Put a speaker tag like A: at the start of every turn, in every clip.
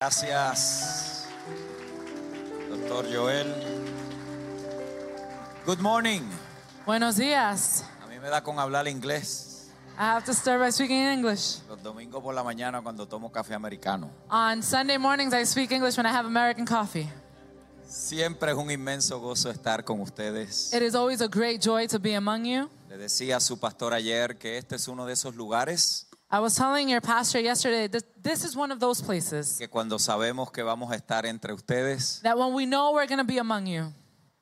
A: Gracias, Dr. Joel. Good morning.
B: Buenos días.
A: A mí me da con hablar inglés.
B: I have to start by speaking in English.
A: Los domingos por la mañana cuando tomo café americano.
B: On Sunday mornings, I speak English when I have American coffee.
A: Siempre es un inmenso gozo estar con ustedes.
B: It is always a great joy to be among you.
A: Le decía a su pastor ayer que este es uno de esos lugares
B: I was telling your pastor yesterday that this is one of those places
A: que cuando sabemos que vamos a estar entre ustedes,
B: that when we know we're going to be among you,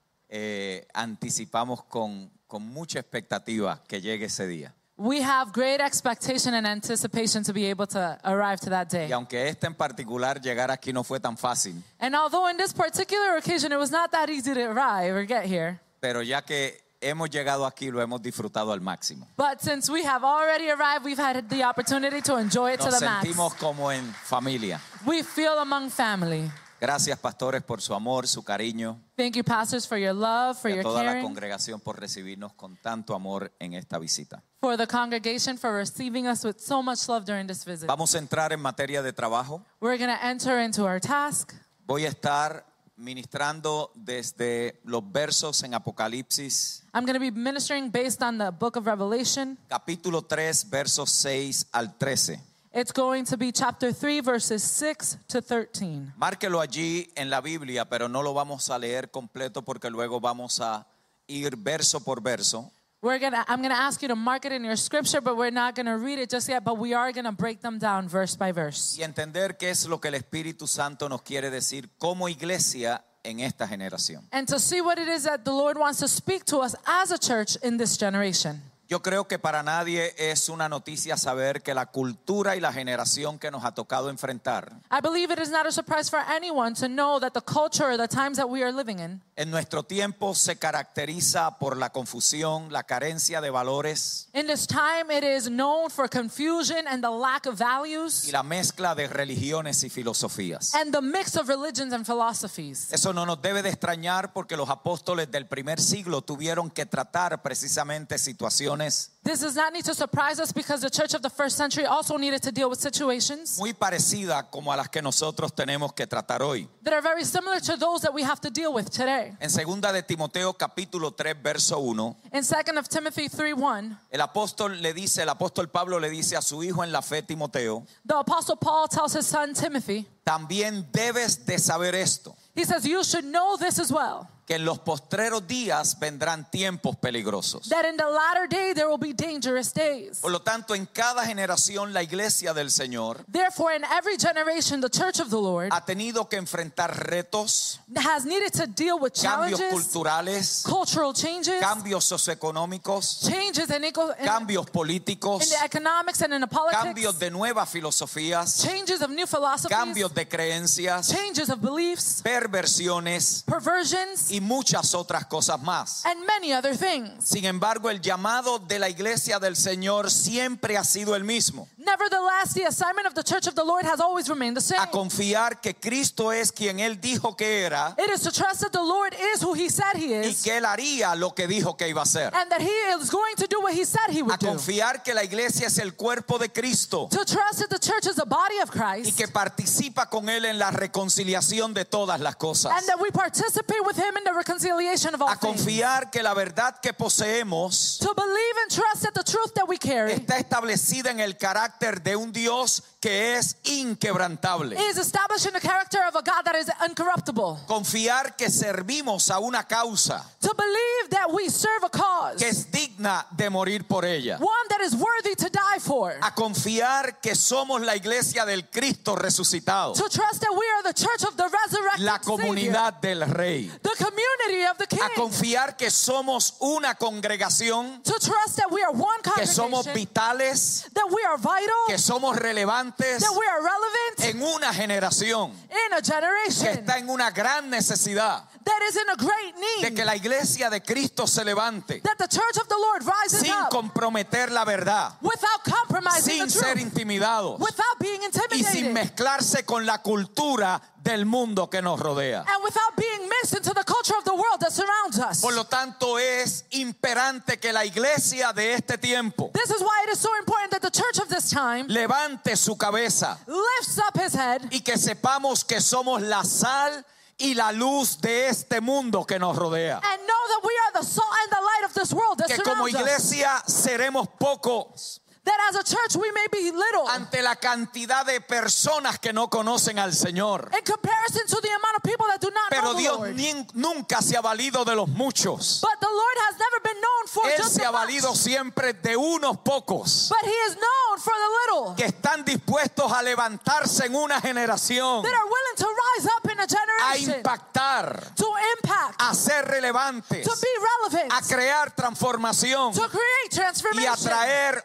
A: anticipamos con mucha expectativa que llegue ese día.
B: we have great expectation and anticipation to be able to arrive to that
A: Y
B: day.
A: aunque este en particular llegar aquí no fue tan fácil,
B: And although in this particular occasion it was not that easy to arrive or get here,
A: pero ya que hemos llegado aquí lo hemos disfrutado al máximo.
B: but since we have already arrived, we've had the opportunity to enjoy it to
A: Nos
B: the max.
A: sentimos como en familia.
B: We feel among family.
A: Gracias, pastores, por su amor, su cariño,
B: Thank you, pastors, for your love, for
A: y a
B: your
A: toda la
B: caring,
A: congregación por recibirnos con tanto amor en esta visita.
B: for the congregation for receiving us with so much love during this visit.
A: Vamos a entrar en materia de trabajo.
B: We're going to enter into our task.
A: Voy a estar ministrando desde los versos en Apocalipsis,
B: I'm going to be ministering based on the book of Revelation.
A: capítulo 3, versos 6 al 13.
B: It's going to be chapter 3, verses 6 to 13.
A: Márquelo allí en la Biblia, pero no lo vamos a leer completo porque luego vamos a ir verso por verso.
B: I'm going to ask you to mark it in your scripture, but we're not going to read it just yet, but we are going to break them down verse by verse.
A: Y entender qué es lo que el Espíritu Santo nos quiere decir como iglesia en esta generación.
B: And to see what it is that the Lord wants to speak to us as a church in this generation.
A: Yo creo que para nadie es una noticia saber que la cultura y la generación que nos ha tocado enfrentar
B: I believe it is not a surprise for anyone to know that the culture or the times that we are living in
A: en nuestro tiempo se caracteriza por la confusión, la carencia de valores
B: this time, it is known for confusion and the lack of values
A: y la mezcla de religiones y filosofías.
B: and the mix of religions and philosophies.
A: Eso no nos debe de extrañar porque los apóstoles del primer siglo tuvieron que tratar precisamente situaciones
B: This does not need to surprise us because the church of the first century also needed to deal with situations
A: muy parecidas como a las que nosotros tenemos que tratar hoy.
B: that are very similar to those that we have to deal with today.
A: En 2 de Timoteo capítulo 3 verso 1,
B: In 2 of Timothy 3:1,
A: el apóstol Pablo le dice a su hijo en la fe Timoteo,
B: the apostle Paul tells his son Timothy,
A: también debes de saber esto,
B: he says, you should know this as well,
A: que en los postreros días vendrán tiempos peligrosos.
B: that in the latter day there will be dangerous days.
A: Por lo tanto, en cada generación la iglesia del Señor
B: Therefore, in every generation, the church of the Lord
A: ha tenido que enfrentar retos,
B: has needed to deal with
A: cambios
B: challenges,
A: culturales,
B: cultural changes,
A: cambios socioeconómicos,
B: changes in
A: cambios políticos,
B: the economics and in the politics,
A: cambios de nuevas filosofías,
B: changes of new philosophies,
A: cambios de creencias,
B: changes of beliefs,
A: perversiones
B: perversions,
A: y muchas otras cosas más.
B: and many other things.
A: Sin embargo, el llamado de la iglesia del Señor siempre ha sido el mismo:
B: Nevertheless, the assignment of the church of the Lord has always remained the same.
A: a confiar que Cristo es quien Él dijo que era
B: It is to trust that the Lord is who He said He
A: y
B: is,
A: que Él haría lo que dijo que iba a hacer.
B: and that He is going to do what He said He
A: A
B: would do.
A: confiar que la iglesia es el cuerpo de Cristo
B: To trust that the church is the body of
A: y
B: Christ,
A: que participa con Él en la reconciliación de todas las cosas.
B: and that we participate with Him in the reconciliation of all
A: A
B: things.
A: confiar que la verdad que poseemos
B: To believe and trust that the truth that we carry
A: está establecida en el carácter de un Dios que es inquebrantable.
B: is established in the character of a God that is uncorruptible.
A: Confiar que servimos a una causa
B: To believe that we serve a cause,
A: que es digna de morir por ella.
B: one that is worthy to die for.
A: A confiar que somos la iglesia del Cristo resucitado,
B: To trust that we are the church of the resurrected
A: la comunidad
B: Savior,
A: del Rey.
B: the community of the King.
A: A confiar que somos una congregación,
B: To trust that we are one
A: que somos
B: congregation,
A: vitales,
B: that we are vital,
A: que somos relevantes
B: that we are relevant
A: en una generación
B: in a
A: que
B: generation
A: está en una gran necesidad
B: that is in a great
A: de
B: need,
A: que la iglesia de Cristo se levante
B: that the church of the Lord rises
A: sin
B: up
A: comprometer la verdad,
B: without compromising
A: sin
B: the
A: ser
B: truth,
A: intimidados
B: without being
A: y sin
B: intimidated,
A: mezclarse con la cultura del mundo que nos rodea.
B: and without being mixed into the culture of the world that surrounds us.
A: Por lo tanto, es imperante que la iglesia de este tiempo
B: This is why it is so important that the church of this time
A: levante su cabeza
B: lifts up his head,
A: y que sepamos que somos la sal y la luz de este mundo que nos rodea.
B: and know that we are the salt and the light of this world that
A: Que como
B: surrounds us.
A: iglesia seremos pocos
B: That as a church we may be little
A: ante la cantidad de personas que no conocen al Señor.
B: in comparison to the amount of people that do not
A: Pero
B: know the
A: Dios
B: Lord.
A: nunca se ha valido de los muchos.
B: But the Lord has never been known for
A: Él
B: just
A: se ha
B: the much,
A: valido siempre de unos pocos
B: but He is known for the little
A: que están dispuestos a levantarse en una generación,
B: that are willing to rise up in a
A: a
B: generation,
A: impactar,
B: to impact,
A: a ser relevantes,
B: to be relevant,
A: a crear transformación
B: to create
A: y
B: transformation,
A: a traer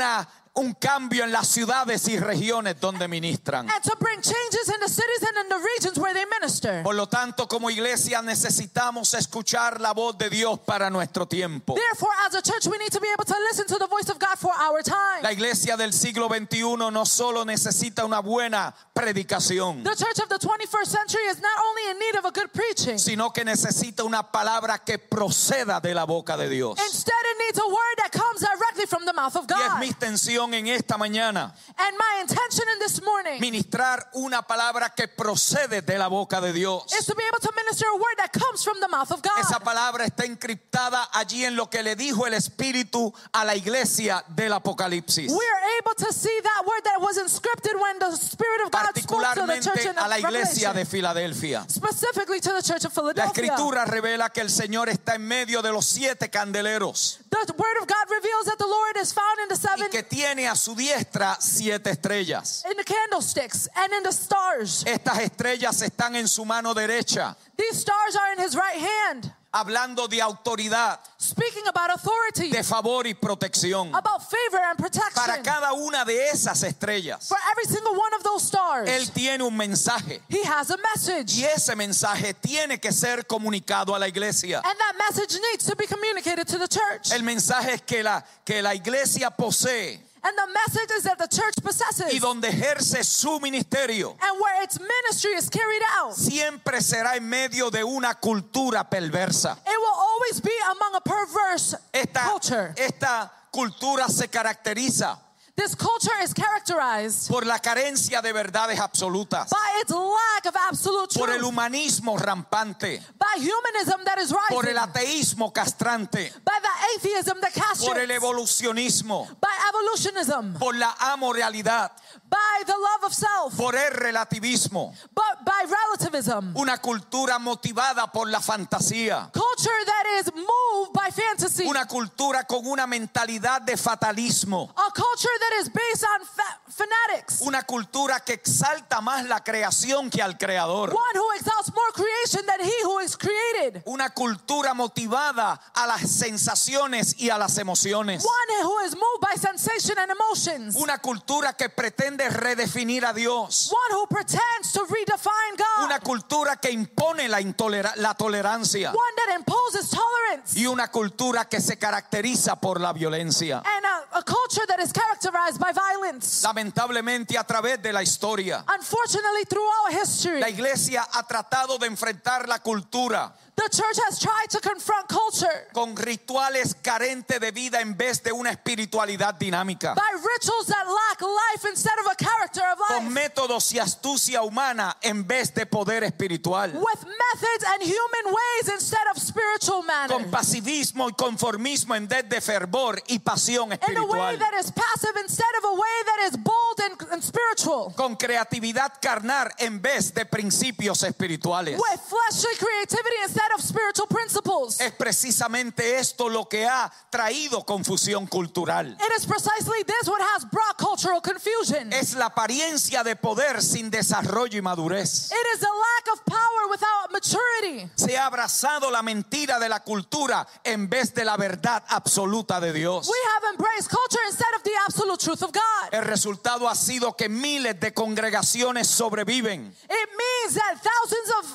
A: un cambio en las ciudades y regiones donde ministran.
B: and to bring changes in the cities and in the regions where they minister.
A: Por lo tanto, como iglesia necesitamos escuchar la voz de Dios para nuestro tiempo.
B: Therefore, as a church, we need to be able to listen to the voice of God for our time.
A: La iglesia del siglo XXI no solo necesita una buena predicación,
B: The church of the 21st century is not only in need of a good preaching,
A: sino que necesita una palabra que proceda de la boca de Dios.
B: instead it needs a word that comes directly from the mouth of
A: Y es
B: God.
A: mi intención en esta mañana
B: And my intention in this morning
A: ministrar una palabra que procede de la boca de Dios.
B: is to be able to minister a word that comes from the mouth of God.
A: Esa palabra está encriptada allí en lo que le dijo el Espíritu a la iglesia del Apocalipsis,
B: We are able to see that word that was inscripted when the Spirit of God spoke to the church
A: particularmente
B: in
A: a la iglesia de
B: Revelation,
A: Filadelfia.
B: specifically to the church of
A: La
B: Philadelphia.
A: Escritura revela que el Señor está en medio de los 7 candeleros
B: The word of God reveals that the Lord is found in the
A: y
B: seven,
A: que tiene a su diestra 7 estrellas.
B: in the candlesticks and in the stars.
A: Estas estrellas están en su mano derecha,
B: These stars are in his right hand,
A: hablando de autoridad,
B: speaking about authority,
A: de favor y protección.
B: about favor and
A: Para
B: protection.
A: cada una de esas estrellas,
B: For every single one of those stars,
A: Él tiene un mensaje
B: he has a message.
A: y ese mensaje tiene que ser comunicado a la iglesia.
B: And that message needs to be communicated to the church.
A: El mensaje es que la iglesia posee
B: And the message is that the church possesses,
A: y donde ejerce su ministerio
B: and where its ministry is carried out,
A: siempre será en medio de una cultura perversa.
B: it will always be among a perverse culture.
A: Esta cultura se caracteriza
B: This culture is characterized
A: por la carencia de verdades absolutas,
B: by its lack of absolute
A: por el
B: truth,
A: humanismo rampante,
B: by humanism that is
A: por el
B: rising,
A: ateísmo castrante,
B: by the atheism that
A: por el
B: castrates,
A: evolucionismo,
B: by evolutionism,
A: por la amoralidad,
B: by the love of self,
A: por el relativismo,
B: but by relativism.
A: una cultura motivada por la fantasía,
B: Culture that is moved by fantasy.
A: una cultura con una mentalidad de fatalismo,
B: A culture that is based on fanatics.
A: una cultura que exalta más la creación que al creador,
B: One who exalts more creation than he who is created.
A: una cultura motivada a las sensaciones y a las emociones,
B: One who is moved by sensation and emotions.
A: una cultura que pretende redefinir a Dios,
B: One who pretends to redefine God.
A: una cultura que impone la tolerancia
B: One that imposes tolerance.
A: y una cultura que se caracteriza por la violencia.
B: And a culture that is characterized by violence.
A: Lamentablemente, a través de la historia,
B: Unfortunately, throughout history,
A: la iglesia ha tratado de enfrentar la cultura
B: the church has tried to confront culture
A: con rituales carentes de vida en vez de una espiritualidad dinámica,
B: by rituals that lack life instead of a character of
A: con
B: life,
A: métodos y astucia humana en vez de poder espiritual,
B: with methods and human ways instead of spiritual manner,
A: con pasivismo y conformismo en vez de fervor y pasión
B: in a way
A: espiritual,
B: that is passive instead of a way that is bold and spiritual,
A: con creatividad carnal en vez de principios espirituales.
B: with fleshly creativity instead of spiritual principles.
A: Es precisamente esto lo que ha traído confusión cultural.
B: It is precisely this what has brought cultural confusion.
A: Es la apariencia de poder sin desarrollo y madurez.
B: It is a lack of power without maturity.
A: Se ha abrazado la mentira de la cultura en vez de la verdad absoluta de Dios.
B: We have embraced culture instead of the absolute truth of God.
A: El resultado ha sido que miles de congregaciones sobreviven
B: It means that thousands of congregations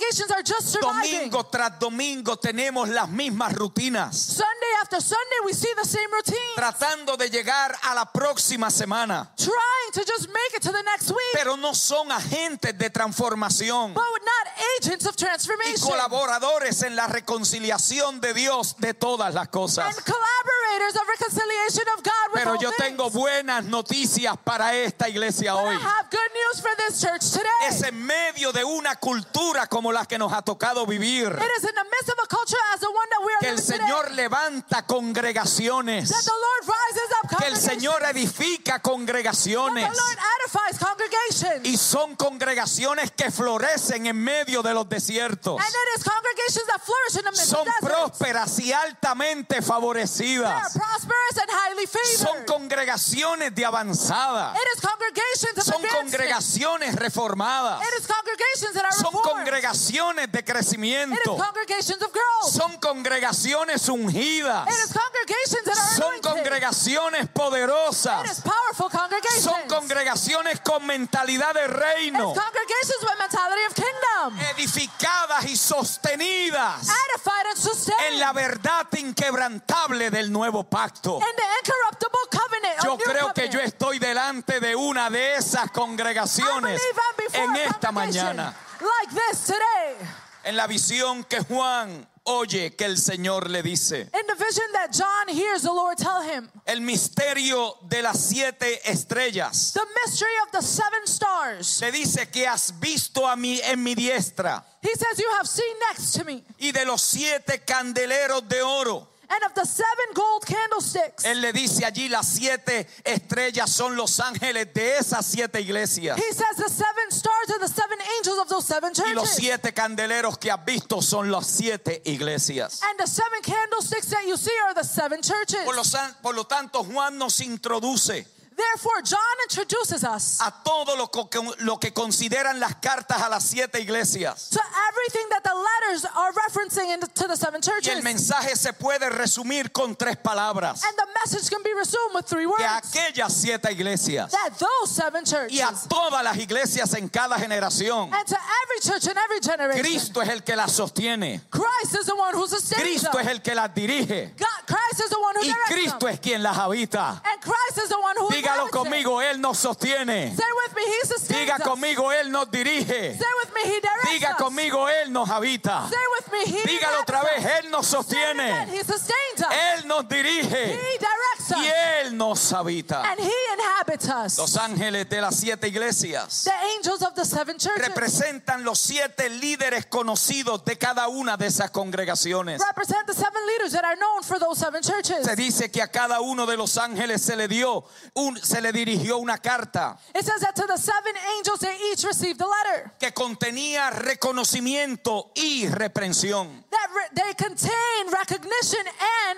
B: congregations are just surviving.
A: Domingo tras domingo tenemos las mismas rutinas,
B: Sunday after Sunday, we see the same routine.
A: tratando de llegar a la próxima semana,
B: Trying to just make it to the next week.
A: pero no son agentes de transformación
B: But not agents of
A: y
B: transformation.
A: colaboradores en la reconciliación de Dios de todas las cosas.
B: And collaborators of reconciliation of God with
A: Pero
B: all
A: yo
B: things.
A: tengo buenas noticias para esta iglesia hoy.
B: I have good news for this church today.
A: Es en medio de una cultura como la que nos ha tocado vivir
B: It is in the midst of a culture as the one that we are
A: que el
B: living
A: Señor
B: today,
A: levanta congregaciones,
B: that the Lord rises up
A: que el
B: congregations,
A: Señor edifica
B: that
A: congregaciones,
B: the Lord edifies congregations,
A: y son congregaciones que florecen en medio de los desiertos.
B: and it is congregations that flourish in the midst
A: Son
B: of deserts.
A: prósperas y altamente
B: They are
A: favorecidas.
B: prosperous and highly
A: Son
B: favored.
A: congregaciones de avanzada.
B: It is congregations of
A: Son
B: advancement.
A: congregaciones reformadas.
B: It is congregations that are
A: Son
B: reformed.
A: congregaciones de
B: It is
A: crecimiento.
B: congregations of growth.
A: Son congregaciones ungidas.
B: It is congregations that are
A: Son
B: anointed.
A: congregaciones
B: It is
A: poderosas.
B: powerful congregations.
A: Son congregaciones con mentalidad de reino,
B: It's congregations with mentality of kingdom.
A: edificadas y sostenidas
B: Edified and sustained.
A: en la verdad inquebrantable del nuevo pacto.
B: In the incorruptible covenant.
A: Yo
B: of new
A: creo que
B: covenant.
A: yo estoy delante de una de esas
B: I
A: congregaciones
B: believe I'm before
A: en
B: a
A: esta
B: congregation
A: mañana.
B: like this today.
A: En la visión que Juan oye que el Señor le dice.
B: In the vision that John hears the Lord tell him,
A: El misterio de las 7 estrellas.
B: the mystery of the 7 stars.
A: Le dice que has visto a mí en mi diestra
B: He says, you have seen next to me,
A: y de los 7 candeleros de oro.
B: and of the 7 gold candlesticks.
A: Él le dice allí las 7 estrellas son los ángeles de esas 7 iglesias.
B: He says the 7 stars are the 7 angels of those 7
A: Y los
B: churches.
A: 7 candeleros que has visto son las 7 iglesias.
B: And the 7 candlesticks that you see are the 7 churches.
A: Por lo tanto, Juan nos introduce
B: Therefore, John introduces us
A: a todo lo que consideran las cartas a las 7 iglesias.
B: to everything that the letters are referencing to the 7
A: Y
B: churches.
A: el mensaje se puede resumir con 3 palabras.
B: And the message can be resumed with 3
A: Que a
B: words.
A: aquellas 7 iglesias
B: That those 7
A: y a
B: churches,
A: todas las iglesias en cada generación,
B: and to every church in every generation,
A: Cristo es el que las sostiene.
B: Christ is the one who sustains
A: Cristo es
B: them.
A: el que las dirige.
B: Christ is the one who
A: Y
B: directs
A: Cristo
B: them.
A: es quien las habita.
B: And Christ is the one who
A: Dígalo
B: inhabits it.
A: conmigo, Él nos sostiene.
B: Say with me, He sustains
A: Diga
B: us.
A: conmigo, Él nos dirige.
B: Say with me, He directs
A: Diga
B: us.
A: conmigo, Él nos habita.
B: Say with me, He
A: Dígalo otra
B: inhabits
A: vez,
B: us.
A: Él nos
B: Say it again,
A: sostiene.
B: He sustains us.
A: Él nos dirige.
B: He directs
A: Y
B: us.
A: Él nos habita.
B: And He inhabits us.
A: Los ángeles de las 7 iglesias
B: The angels of the 7 churches
A: representan los 7 líderes conocidos de cada una de esas congregaciones.
B: represent the 7 leaders that are known for those 7 churches.
A: Se dice que a cada uno de los ángeles se le dirigió una carta
B: It says that to the 7 angels they each received a letter
A: que contenía reconocimiento y reprensión.
B: that they contain recognition and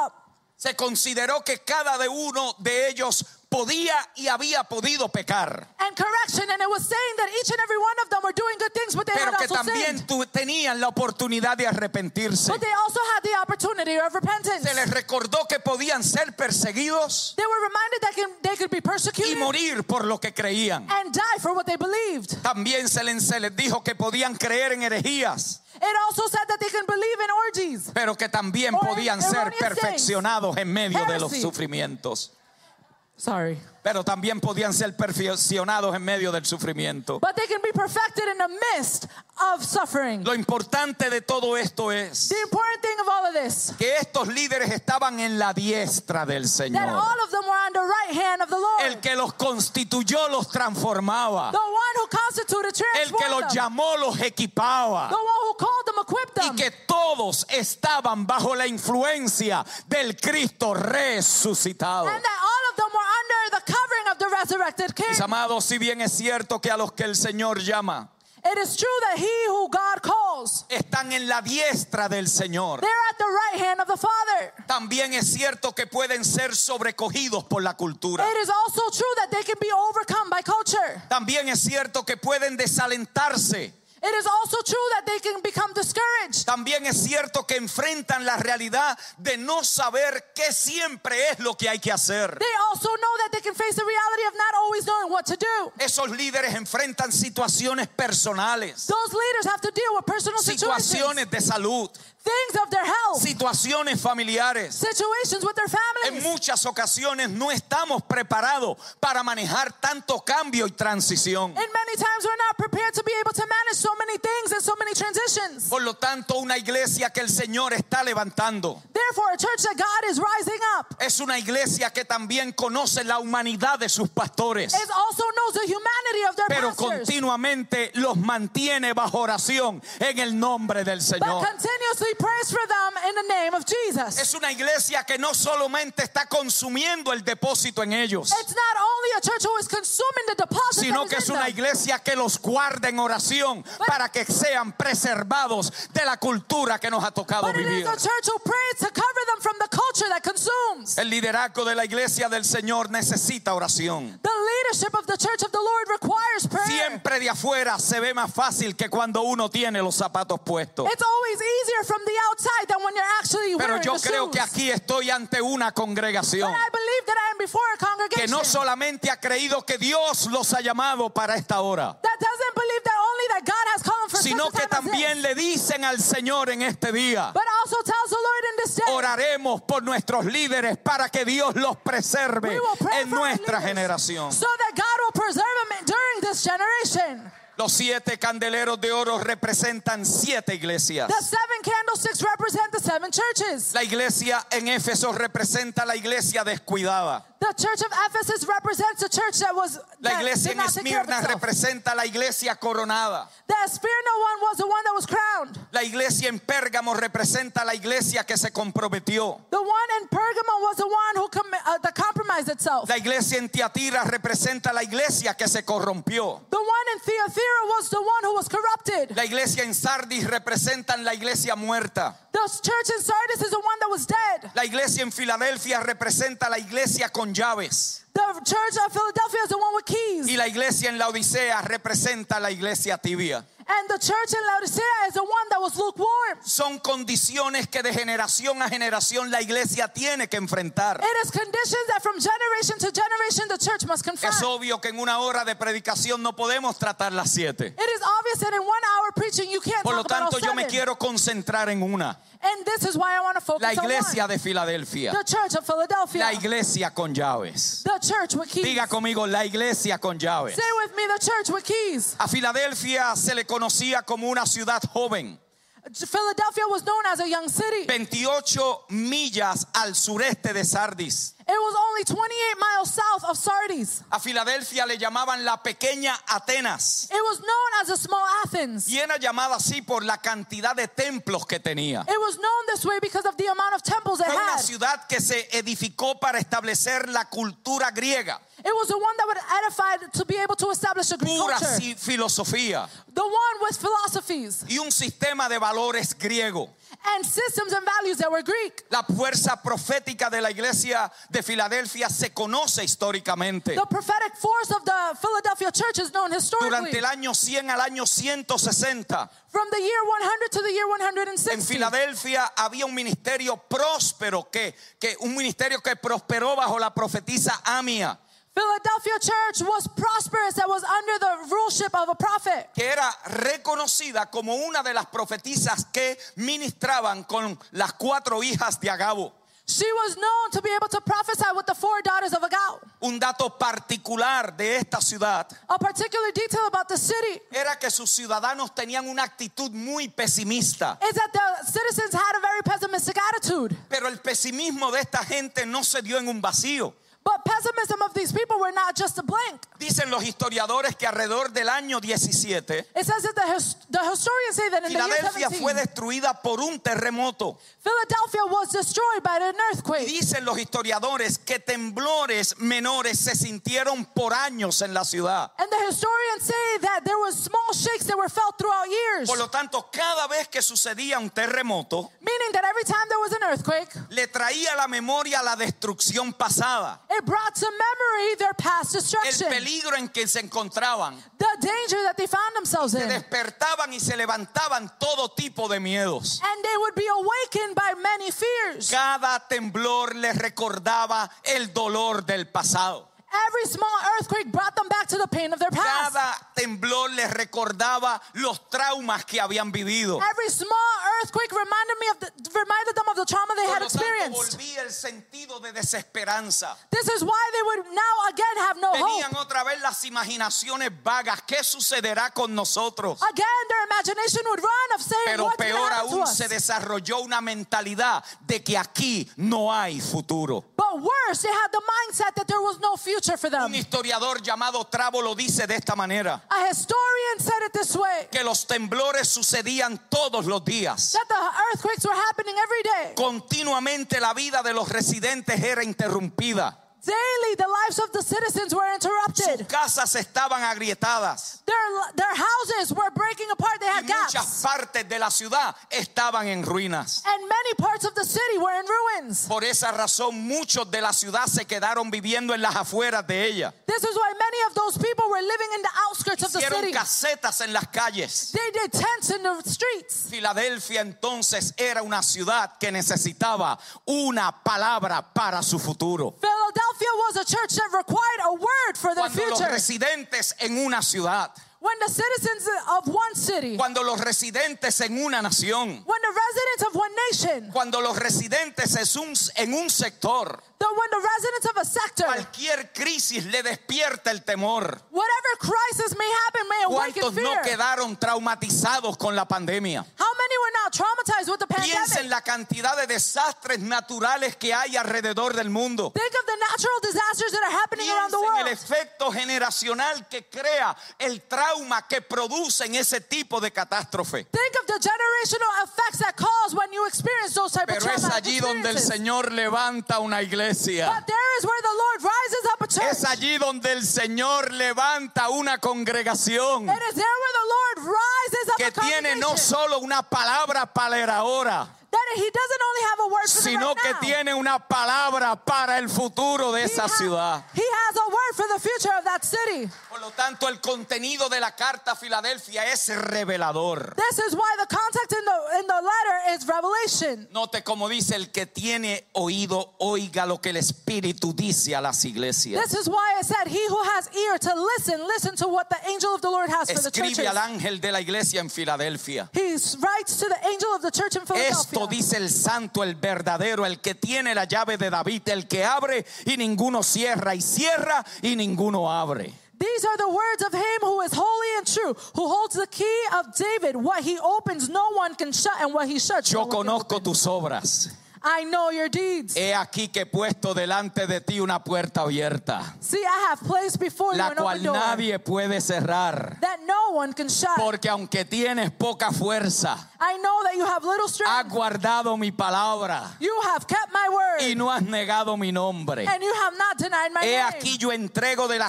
A: Se consideró que cada uno de ellos podía y había podido pecar,
B: correction, and it was saying that each and every one of them were doing good things, but they
A: pero
B: had
A: que
B: also
A: también
B: sinned.
A: tenían la oportunidad de arrepentirse.
B: But they also had the opportunity of repentance.
A: Se les recordó que podían ser perseguidos
B: They were reminded that they could be
A: y
B: persecuted
A: morir por lo que creían.
B: and die for what they believed.
A: También se les dijo que podían creer en herejías,
B: It also said that they can believe in orgies.
A: pero que también
B: Or
A: podían ser
B: erroneous things.
A: perfeccionados en medio de los
B: Heresy.
A: sufrimientos.
B: Sorry.
A: Pero también podían ser perfeccionados en medio del sufrimiento.
B: But they can be perfected in the midst of suffering.
A: Lo importante de todo esto es
B: The important thing of all of this,
A: que estos líderes estaban en la diestra del
B: that
A: Señor.
B: all of them were on the right hand of the Lord.
A: El que los constituyó los transformaba.
B: The one who constituted,
A: El que
B: transformed
A: los
B: them.
A: llamó los equipaba.
B: The one who called them, equipped
A: Y
B: them.
A: que todos estaban bajo la influencia del Cristo resucitado.
B: And that all of them were under the covering of the resurrected King.
A: Mis amados, si bien es cierto que a los que el Señor llama
B: It is true that he who God calls,
A: están en la diestra del Señor,
B: they're at the right hand of the Father.
A: también es cierto que pueden ser sobrecogidos por la cultura.
B: It is also true that they can be overcome by culture.
A: También es cierto que pueden desalentarse
B: It is also true that they can become discouraged.
A: También es cierto que enfrentan la realidad de no saber qué siempre es lo que hay que hacer.
B: They also know that they can face the reality of not always knowing what to do.
A: Esos líderes enfrentan situaciones personales,
B: Those leaders have to deal with personal situations,
A: situaciones de salud,
B: things of their health,
A: situaciones familiares.
B: situations with their
A: En
B: families.
A: muchas ocasiones no estamos preparados para manejar tanto cambio y transición.
B: And many times we're not prepared to be able to manage so many things and so many transitions.
A: Por lo tanto, una iglesia que el Señor está levantando
B: Therefore, a church that God is rising up,
A: es una iglesia que también conoce la humanidad de sus pastores,
B: it also knows the humanity of their
A: pero
B: pastors,
A: continuamente los mantiene bajo oración en el nombre del
B: but
A: Señor.
B: continuously prays for them in the name of Jesus.
A: Es una iglesia que no solamente está consumiendo el depósito en ellos,
B: It's not only a church who is consuming the deposit
A: sino
B: that
A: que
B: is
A: es
B: in
A: una
B: them,
A: iglesia que los guarda en oración para que sean preservados de la cultura que nos ha tocado
B: but it
A: vivir.
B: is a church who prays to cover them from the culture that consumes.
A: El liderazgo de la iglesia del Señor necesita oración.
B: The leadership of the church of the Lord requires prayer.
A: Siempre de afuera se ve más fácil que cuando uno tiene los zapatos puestos.
B: It's always easier from the outside than when you're actually
A: Pero
B: wearing
A: yo
B: the
A: creo
B: shoes.
A: que aquí estoy ante una congregación
B: But I believe that I am before a
A: que
B: congregation
A: no solamente ha creído que Dios los ha llamado para esta hora,
B: that doesn't believe that only that God has called them for
A: sino
B: such a
A: que
B: time as
A: también
B: this,
A: le dicen al Señor en este día:
B: but also tells the Lord in this day,
A: oraremos por nuestros líderes para que Dios los preserve
B: we will pray
A: en
B: for our
A: nuestra
B: leaders
A: generación.
B: so that God will preserve them during this generation.
A: Los 7 candeleros de oro representan 7 iglesias.
B: The 7 candlesticks represent the 7 churches.
A: La iglesia en Éfeso representa la iglesia descuidada.
B: The church of Ephesus represents a church that was
A: La
B: that
A: iglesia
B: did
A: en
B: not take care of
A: Esmirna
B: itself.
A: representa la iglesia coronada.
B: The Smyrna one was the one that was crowned.
A: La iglesia en Pérgamo representa la iglesia que se comprometió.
B: The one in Pergamum was the one who that compromised itself.
A: La iglesia en Tiatira representa la iglesia que se corrompió.
B: The one in Thyatira was the one who was corrupted.
A: La iglesia en Sardis representa la iglesia muerta.
B: The church in Sardis is the one that was dead.
A: La iglesia en Filadelfia representa la iglesia con llaves.
B: The church of Philadelphia is the one with keys.
A: Y la iglesia en la Odisea representa la iglesia tibia.
B: And the church in Laodicea is the one that was lukewarm.
A: Son condiciones que de generación a generación la iglesia tiene que enfrentar.
B: It is conditions that from generation to generation the church must confront.
A: Es obvio que en una hora de predicación no podemos tratar las 7.
B: It is obvious that in 1 hour preaching you can't
A: Por lo
B: talk about all
A: tanto, yo me
B: 7.
A: quiero concentrar en una.
B: And this is why I want to focus
A: La
B: on
A: iglesia
B: one.
A: de Filadelfia.
B: The church of Philadelphia.
A: La iglesia con llaves.
B: The church with keys.
A: Diga conmigo, la iglesia con llaves.
B: Say with me, the church with keys.
A: A Filadelfia se le conocía como una ciudad joven,
B: Philadelphia was known as a young city.
A: 28 millas al sureste de Sardis.
B: It was only 28 miles south of Sardis.
A: A Filadelfia le llamaban la pequeña Atenas.
B: It was known as a small Athens.
A: Y era llamada así por la cantidad de templos que tenía.
B: It was known this way because of the amount of temples it
A: Fue una
B: had.
A: ciudad que se edificó para establecer la cultura griega,
B: It was the one that would edify to be able to establish a Greek
A: pura
B: culture.
A: filosofía
B: The one with philosophies
A: y un sistema de valores griego.
B: and systems and values that were Greek.
A: La fuerza profética de la iglesia de Filadelfia se conoce históricamente.
B: The prophetic force of the Philadelphia church is known historically.
A: Durante el año 100 al año 160,
B: From the year 100 to the year
A: en
B: 160.
A: Filadelfia había un ministerio próspero, un ministerio que prosperó bajo la profetisa Amia,
B: Philadelphia church was prosperous, that was under the ruleship of a prophet.
A: que era reconocida como una de las profetisas que ministraban con las 4 hijas de Agabo.
B: She was known to be able to prophesy with the 4 daughters of Agao.
A: Un dato particular de esta ciudad
B: A particular detail about the city
A: era que sus ciudadanos tenían una actitud muy pesimista.
B: is that the citizens had a very pessimistic attitude.
A: Pero el pesimismo de esta gente no se dio en un vacío.
B: But pessimism of these people were not just a blank.
A: Dicen los historiadores que alrededor del año 17,
B: It says that the historians say that in the year
A: Filadelfia
B: 17,
A: fue destruida por un terremoto.
B: Philadelphia was destroyed by an
A: Y
B: earthquake.
A: dicen los historiadores que temblores menores se sintieron por años en la ciudad.
B: And the historians say that there were small shakes that were felt throughout years.
A: Por lo tanto, cada vez que sucedía un terremoto,
B: Meaning that every time there was an earthquake,
A: le traía a la memoria la destrucción pasada.
B: It brought to memory their past
A: el
B: destruction,
A: peligro en que se encontraban.
B: the danger that they found themselves
A: Se
B: in.
A: despertaban y se levantaban todo tipo de miedos.
B: And they would be awakened by many fears.
A: Cada temblor les recordaba el dolor del pasado.
B: Every small earthquake brought them back to the pain of their past.
A: Cada temblor les recordaba los traumas que habían vivido.
B: Every small earthquake reminded them of the trauma they
A: Por
B: had
A: lo tanto,
B: experienced.
A: volvía el sentido de desesperanza.
B: This is why they would now again have no hope.
A: Tenían otra vez las imaginaciones vagas. ¿Qué sucederá con nosotros?
B: Again, their imagination would run of saying,
A: Pero
B: what's going to
A: peor
B: happen to
A: aún,
B: us?
A: se desarrolló una mentalidad de que aquí no hay futuro.
B: But worse, they had the mindset that there was no future for them.
A: Un historiador llamado Trabo lo dice de esta manera:
B: A historian said it this way,
A: que los temblores sucedían todos los días.
B: that the earthquakes were happening every day.
A: Continuamente la vida de los residentes era interrumpida.
B: Daily, the lives of the citizens were
A: Sus
B: interrupted.
A: casas estaban agrietadas
B: Their houses were breaking apart. They
A: y
B: had
A: muchas
B: gaps.
A: partes de la ciudad estaban en ruinas.
B: And many parts of the city were in ruins.
A: Por esa razón, muchos de la ciudad se quedaron viviendo en las afueras de ella.
B: This is why many of those people were living in the outskirts of the
A: Hicieron
B: city.
A: casetas en las calles.
B: They did tents in the streets.
A: Filadelfia entonces era una ciudad que necesitaba una palabra para su futuro.
B: Philadelphia was a church that required a word for their
A: Cuando los
B: future.
A: residentes en una ciudad,
B: When the citizens of one city,
A: cuando los residentes en una nación,
B: when the residents of one nation,
A: cuando los residentes en un sector,
B: when the residents of a sector,
A: cualquier crisis le despierta el temor.
B: whatever crisis may happen may awaken
A: ¿Cuántos no
B: fear.
A: quedaron traumatizados con la pandemia?
B: How many were not traumatized with the
A: Piensa
B: pandemic?
A: en la cantidad de desastres naturales que hay alrededor del mundo.
B: Think of the natural disasters that are happening around the
A: Piensa en el
B: world.
A: efecto generacional que crea el trauma que producen ese tipo de catástrofe.
B: Think of the generational effects that cause when you experience those type of
A: Pero es
B: traumatic
A: allí donde el
B: experiences.
A: Señor levanta una iglesia.
B: But there is where the Lord rises up a church.
A: Es allí donde el Señor levanta una congregación
B: It is there where the Lord rises up
A: que
B: a
A: tiene no
B: congregation.
A: solo una palabra para el ahora,
B: That he doesn't only have a word for the
A: sino
B: right
A: que
B: now.
A: tiene una palabra para el futuro de esa ciudad.
B: He has a word for the future of that city.
A: Por lo tanto, el contenido de la carta a Filadelfia es revelador.
B: This is why the context in the letter is revelation.
A: Note como dice: el que tiene oído, oiga lo que el Espíritu dice a las iglesias.
B: This is why I said, he who has ear to listen to what the angel of the Lord has for the
A: Escribe
B: churches.
A: al ángel de la iglesia en Filadelfia.
B: He writes to the angel of the church in Philadelphia.
A: Esto dice el santo, el verdadero, el que tiene la llave de David, el que abre y ninguno cierra, y cierra y ninguno abre.
B: These are the words of him who is holy and true, who holds the key of David. What he opens, no one can shut, and what he shuts, no
A: Yo
B: one can
A: conozco
B: open.
A: tus obras.
B: I know your deeds.
A: He aquí que he puesto delante de ti una puerta abierta,
B: See, I have placed before you
A: la
B: an
A: cual
B: open door
A: nadie puede cerrar.
B: that no one can shut.
A: Porque aunque tienes poca fuerza,
B: I know that you have little
A: has
B: strength.
A: guardado mi palabra
B: You have kept my word,
A: y no has negado mi nombre.
B: and you have not denied my
A: He
B: name.
A: aquí yo entrego de la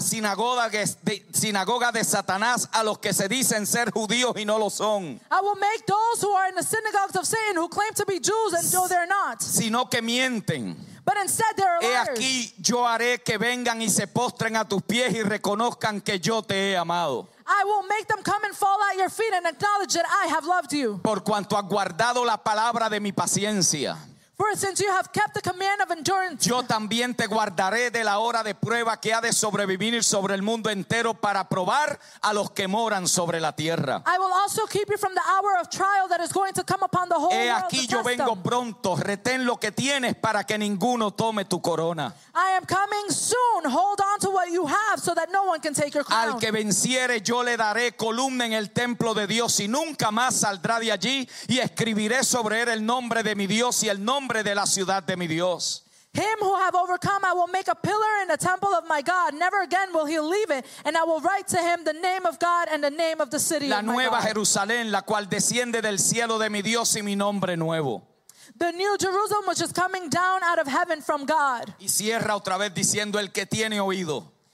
A: sinagoga de Satanás a los que se dicen ser judíos y no lo son,
B: I will make those who are in the synagogues of Satan, who claim to be Jews and though they're not,
A: sino que mienten.
B: but instead they're
A: He
B: liars.
A: aquí yo haré que vengan y se postren a tus pies y reconozcan que yo te he amado,
B: I will make them come and fall at your feet and acknowledge that I have loved you.
A: por cuanto has guardado la palabra de mi paciencia.
B: For since you have kept the command of endurance,
A: Yo también te guardaré de la hora de prueba que ha de sobrevivir sobre el mundo entero para probar a los que moran sobre la tierra.
B: I will also keep you from the hour of trial that is going to come upon the whole
A: He
B: world
A: aquí
B: to
A: yo
B: test
A: vengo
B: them.
A: pronto, retén lo que tienes para que ninguno tome tu corona.
B: I am coming soon. Hold on to what you have so that no one can take your crown.
A: Al que venciere yo le daré columna en el templo de Dios y nunca más saldrá de allí, y escribiré sobre él el nombre de mi Dios y el nombre de la ciudad de mi Dios.
B: Him who have overcome, I will make a pillar in the temple of my God. Never again will he leave it. And I will write to him the name of God and the name of the city
A: La
B: of my
A: nueva
B: God.
A: Jerusalén, la cual desciende del cielo de mi Dios, y mi nombre nuevo.
B: The new Jerusalem which is coming down out of heaven from God.
A: Y cierra otra vez diciendo: el que tiene oído,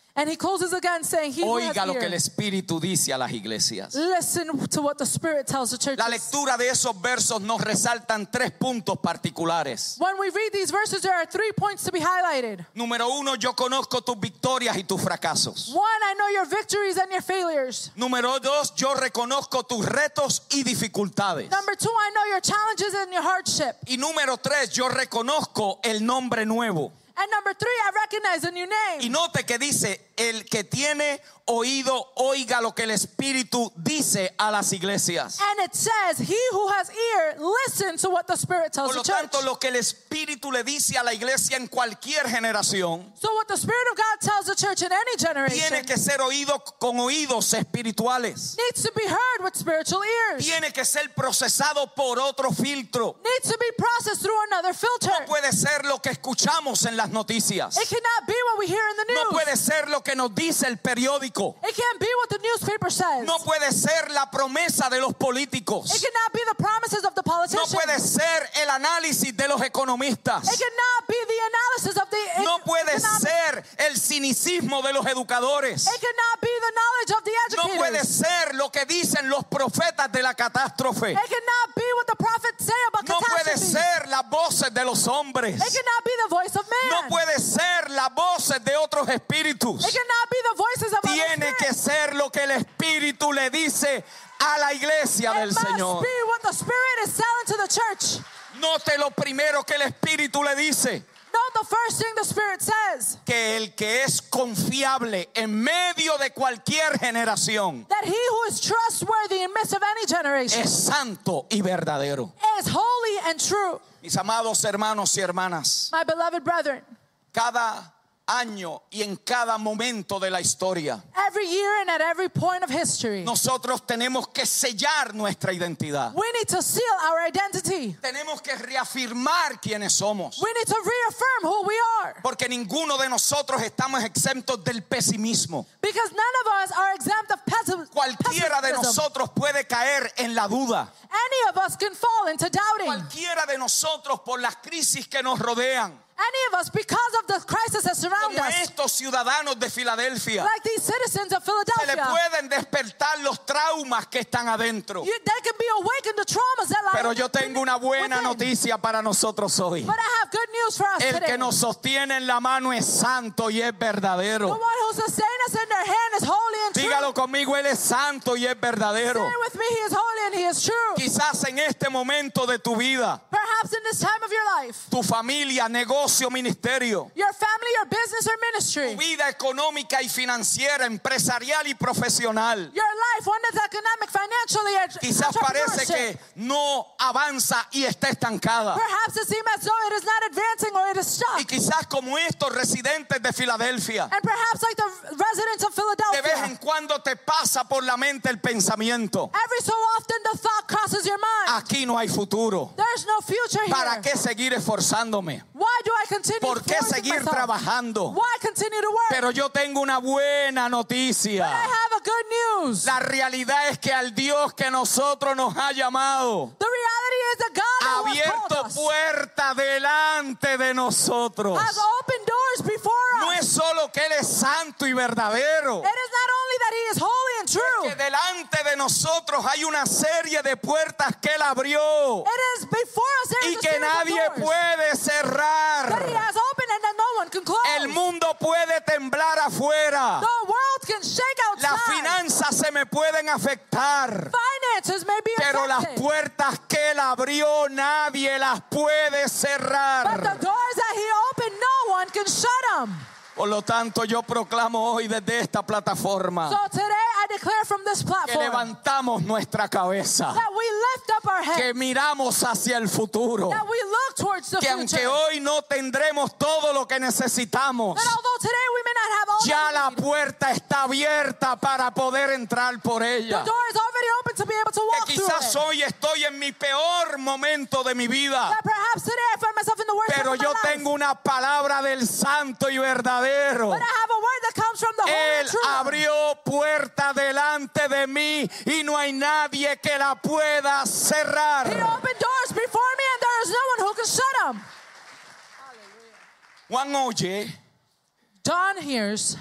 B: And he closes again saying, he who has
A: Oiga lo que el
B: ears,
A: Espíritu dice a las iglesias.
B: listen to what the Spirit tells the churches.
A: La lectura de esos versos nos resaltan 3 puntos particulares.
B: When we read these verses, there are 3 points to be highlighted.
A: Número 1, yo conozco tus victorias y tus fracasos.
B: 1, I know your victories and your failures.
A: Número 2, yo reconozco tus retos y dificultades.
B: Number 2, I know your challenges and your hardship.
A: Y número 3, yo reconozco el nombre nuevo.
B: And number 3, I recognize a new name.
A: Y note que dice, el que tiene oído, oiga lo que el Espíritu dice a las iglesias.
B: And it says, he who has ear, listen to what the Spirit tells
A: Por lo
B: the church.
A: tanto, lo que el Espíritu le dice a la iglesia en cualquier generación
B: So what the Spirit of God tells the church in any generation
A: tiene que ser oído con oídos espirituales.
B: needs to be heard with spiritual ears.
A: Tiene que ser procesado por otro filtro.
B: Needs to be processed through another filter.
A: No puede ser lo que escuchamos en las noticias.
B: It cannot be what we hear in the news.
A: No puede ser lo que nos dice el periódico.
B: It can't be what the newspaper says.
A: No puede ser la promesa de los políticos.
B: It cannot be the promises of the
A: No
B: politicians.
A: puede ser el análisis de los economistas.
B: It cannot be the analysis of the
A: No puede
B: economic.
A: ser el cinicismo de los educadores.
B: It cannot be the knowledge of the
A: No
B: educators.
A: puede ser lo que dicen los profetas de la catástrofe.
B: It cannot be what the prophets say about
A: No puede
B: catastrophes.
A: ser las voces de los hombres.
B: It cannot be the voice of man.
A: No puede ser las voces de otros espíritus.
B: It cannot be the voices of
A: Tiene
B: other
A: que
B: spirits.
A: ser lo que el Espíritu le dice a la iglesia del
B: It must
A: Señor.
B: be what the Spirit is telling to the church.
A: Note lo primero que el Espíritu le dice.
B: Note the first thing the Spirit says.
A: Que el que es confiable en medio de cualquier generación
B: That he who is trustworthy in midst of any generation
A: es santo y verdadero.
B: is holy and true.
A: Mis amados hermanos y hermanas,
B: My beloved brethren,
A: cada año y en cada momento de la historia,
B: every year and at every point of history,
A: nosotros tenemos que sellar nuestra identidad.
B: we need to seal our identity.
A: Tenemos que reafirmar quiénes somos.
B: We need to reaffirm who we are.
A: Porque ninguno de nosotros estamos exentos del pesimismo.
B: Because none of us are exempt of
A: Cualquiera de
B: pessimism.
A: nosotros puede caer en la duda.
B: Any of us can fall into doubting.
A: Cualquiera de nosotros por las crisis que nos rodean.
B: Any of us, because of the crisis that surround
A: Como
B: us,
A: estos ciudadanos de Filadelfia,
B: like these citizens of
A: se le
B: Philadelphia,
A: pueden despertar los traumas que están adentro.
B: they can be awakened to traumas that lie
A: Pero yo tengo una buena
B: within.
A: noticia para nosotros hoy.
B: But I have good news for us
A: El
B: today.
A: que nos sostiene en la mano es santo y es
B: The
A: verdadero.
B: one who sustains us in their hand is holy and true.
A: Dígalo conmigo, Él es santo y es verdadero.
B: Say with me, he is holy and he is true.
A: Quizás en este momento de tu vida,
B: Perhaps in this time of your life,
A: tu familia, negocio, ministerio,
B: your family, your business, or ministry,
A: tu vida económica y financiera, empresarial y profesional,
B: your life, one that's economic, financially, and
A: quizás parece
B: entrepreneurship.
A: que no avanza y está estancada.
B: Perhaps it seems as though it is not advancing or it is stuck.
A: Y quizás como estos residentes de Filadelfia,
B: And perhaps like the residents of
A: de vez
B: Philadelphia,
A: en cuando te pasa por la mente el pensamiento:
B: every so often the thought crosses your mind.
A: aquí no hay futuro.
B: There's no future here.
A: ¿Para qué seguir esforzándome?
B: Why do I continue
A: ¿Por qué
B: forcing
A: seguir
B: myself?
A: trabajando?
B: Why continue to work?
A: Pero yo tengo una buena
B: But I
A: noticia.
B: have a good news.
A: La realidad es que al Dios que nosotros nos ha llamado,
B: The reality is that God
A: ha
B: who has
A: abierto
B: called us
A: puerta delante de nosotros.
B: has opened doors before
A: No
B: us.
A: es solo que Él es santo y verdadero,
B: It is not only that he is holy and true.
A: que delante de nosotros hay una serie de puertas que Él abrió
B: It is before us there
A: y
B: is a
A: que
B: series of
A: nadie
B: doors
A: puede
B: that he
A: cerrar.
B: has opened and that no one can close.
A: El mundo puede temblar afuera.
B: The world can shake
A: Las
B: outside.
A: finanzas se me pueden afectar.
B: Finances may be
A: Pero las
B: affected.
A: puertas que Él abrió nadie las puede
B: But
A: cerrar.
B: the doors that he opened, no one can shut them.
A: Por lo tanto, yo proclamo hoy desde esta plataforma
B: So today I declare from this
A: que
B: platform
A: levantamos nuestra cabeza,
B: that we lift up our
A: que
B: head,
A: miramos hacia el futuro,
B: that we look towards the
A: que
B: future.
A: aunque hoy no tendremos todo lo que necesitamos,
B: That although today we may not have all
A: ya
B: that
A: la
B: we need,
A: puerta está abierta para poder entrar por
B: the
A: ella.
B: door is already open to be able to walk
A: Que
B: through
A: quizás
B: it.
A: hoy estoy en mi peor momento de mi vida,
B: That perhaps today I find myself in the worst
A: pero
B: time of
A: yo
B: my life.
A: tengo una palabra del santo y verdadero.
B: But I have a word that comes from the holy
A: Él
B: and true.
A: abrió puerta delante de mí y no hay nadie que la pueda
B: He
A: cerrar.
B: opened doors before me and there is no one who can shut them.
A: Juan oye
B: John hears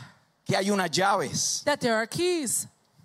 A: que hay unas llaves.
B: that there are keys.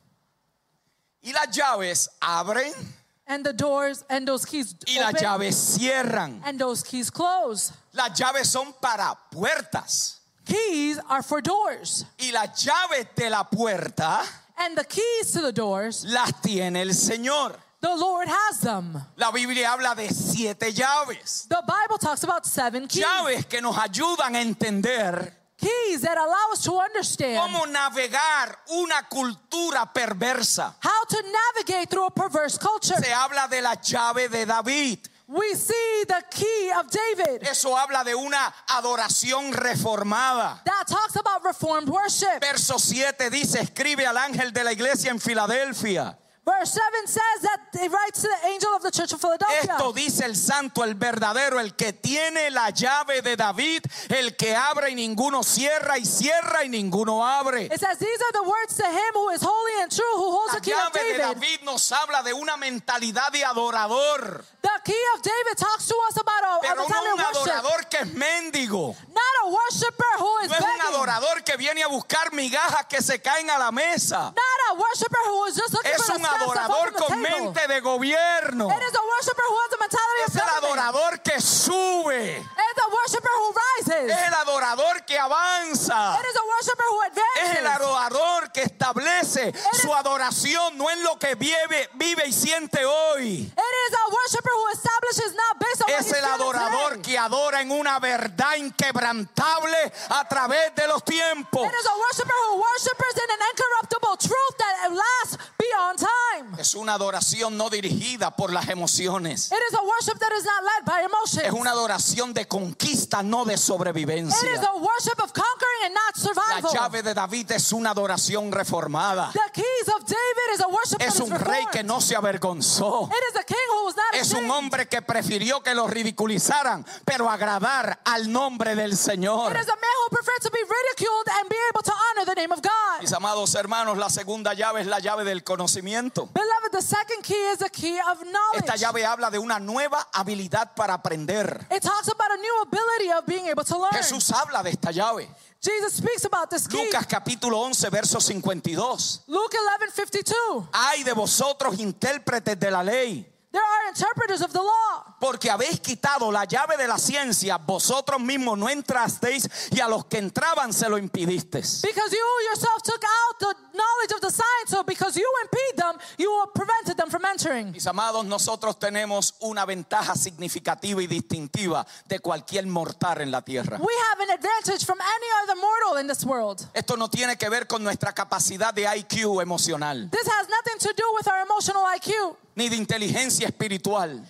A: Y las llaves abren
B: And the doors and those keys
A: y las
B: open
A: llaves cierran.
B: and those keys close.
A: Las llaves son para puertas.
B: Keys are for doors.
A: Y las llaves de la puerta
B: And the keys to the doors,
A: las tiene el Señor.
B: the Lord has them.
A: La Biblia habla de 7 llaves.
B: The Bible talks about 7 keys.
A: Llaves que nos ayudan a entender
B: Keys that allow us to understand
A: cómo navegar una cultura perversa.
B: how to navigate through a perverse culture.
A: Se habla de la llave de David.
B: We see the key of David.
A: Eso habla de una adoración reformada.
B: That talks about reformed worship.
A: Verso 7 dice, escribe al ángel de la iglesia en Filadelfia.
B: Verse 7 says that it writes to the angel of the church of Philadelphia.
A: Esto dice el santo, el verdadero, el que tiene la llave de David, el que abre y ninguno cierra, y cierra y ninguno abre.
B: It says, these are the words to him who is holy and true, who holds
A: La
B: the key of
A: llave de
B: David.
A: David nos habla de una mentalidad de adorador,
B: The key of David talks to us about a
A: pero no
B: mentality
A: un
B: of worship.
A: adorador que es mendigo.
B: Not a worshiper who is
A: No es un
B: begging.
A: adorador que viene a buscar migajas que se caen a la mesa.
B: Not a worshiper who is just looking
A: Es
B: for
A: un
B: the scraps that fall
A: adorador
B: from the
A: con
B: table.
A: mente de gobierno.
B: It is a worshiper who has the mentality
A: Es
B: of
A: el
B: government.
A: adorador que sube.
B: It's a worshiper who rises.
A: Es el adorador que avanza.
B: It is a worshiper who
A: Es el
B: advances.
A: adorador que establece su adoración no en lo que vive y siente hoy.
B: It is a worshiper who establishes not based on what
A: Es
B: he's
A: el
B: feeling
A: adorador
B: today.
A: que adora en una verdad inquebrantable a través de los tiempos.
B: It is a worshiper who worships in an incorruptible truth that lasts beyond time.
A: Es una adoración no dirigida por las emociones.
B: It is a worship that is not led by emotions.
A: Es una adoración de conquista, no de
B: It is
A: sobrevivencia.
B: a worship of conquering and not
A: La
B: survival.
A: llave de David es una adoración reformada.
B: The keys of David is a worship that
A: Es
B: is
A: un rey que
B: reformed.
A: no se avergonzó.
B: It is a king who was not
A: Es un
B: ashamed.
A: hombre que prefirió que lo ridiculizaran, pero agradar al nombre del Señor.
B: It is a man who preferred to be ridiculed and be able to honor the name of God.
A: Mis amados hermanos, la segunda llave es la llave del conocimiento.
B: Beloved, the second key is the key of knowledge.
A: Esta llave habla de una nueva habilidad para aprender.
B: It talks about a new ability of being able to learn.
A: Jesús habla de esta llave.
B: Jesus speaks about this key.
A: Lucas capítulo 11, verso 52.
B: Luke 11:52.
A: Ay de vosotros, intérpretes de la ley,
B: There are interpreters of the law.
A: porque habéis quitado la llave de la ciencia, vosotros mismos no entrasteis y a los que entraban se lo impedisteis.
B: Because you yourself took out the knowledge of the science, so because you impede them, you prevented them from entering.
A: Mis amados, nosotros tenemos una ventaja significativa y distintiva de cualquier mortal en la tierra.
B: We have an advantage from any other mortal in this world.
A: Esto no tiene que ver con nuestra capacidad de IQ emocional,
B: This has nothing to do with our emotional IQ
A: ni de inteligencia espiritual,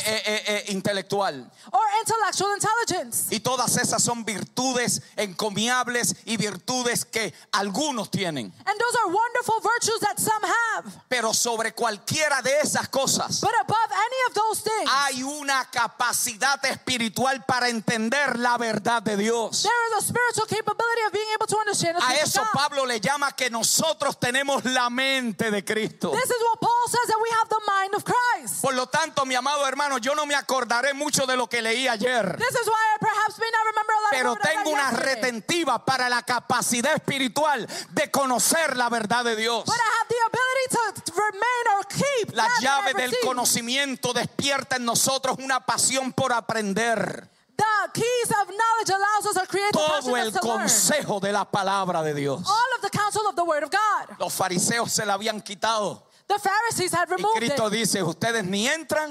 A: intelectual.
B: or intellectual intelligence.
A: Y todas esas son virtudes encomiables y virtudes que algunos tienen.
B: And those are wonderful virtues that some have.
A: Pero sobre cualquiera de esas cosas
B: But above any of those things,
A: hay una capacidad espiritual para entender la verdad de Dios.
B: there is a spiritual capability of being able to understand the
A: A
B: things of
A: eso
B: God.
A: Pablo le llama que nosotros tenemos la mente de Cristo.
B: This is what Paul says, that we have the mind of Christ.
A: Por lo tanto, mi amado hermano, yo no me acordaré mucho de lo que leí ayer,
B: This is why I perhaps may not remember a lot
A: pero
B: of what I
A: tengo
B: read
A: una
B: yesterday.
A: retentiva para la capacidad espiritual de conocer la verdad de Dios.
B: But I have the ability to remain or keep
A: La
B: that that
A: llave
B: I
A: del
B: receive.
A: conocimiento despierta en nosotros una pasión por aprender
B: The keys of knowledge allows us to create the
A: todo el
B: passion to learn.
A: consejo de la palabra de Dios.
B: All of the counsel of the word of God.
A: Los fariseos se la habían quitado
B: The Pharisees had
A: y
B: removed it.
A: Cristo dice, ustedes ni entran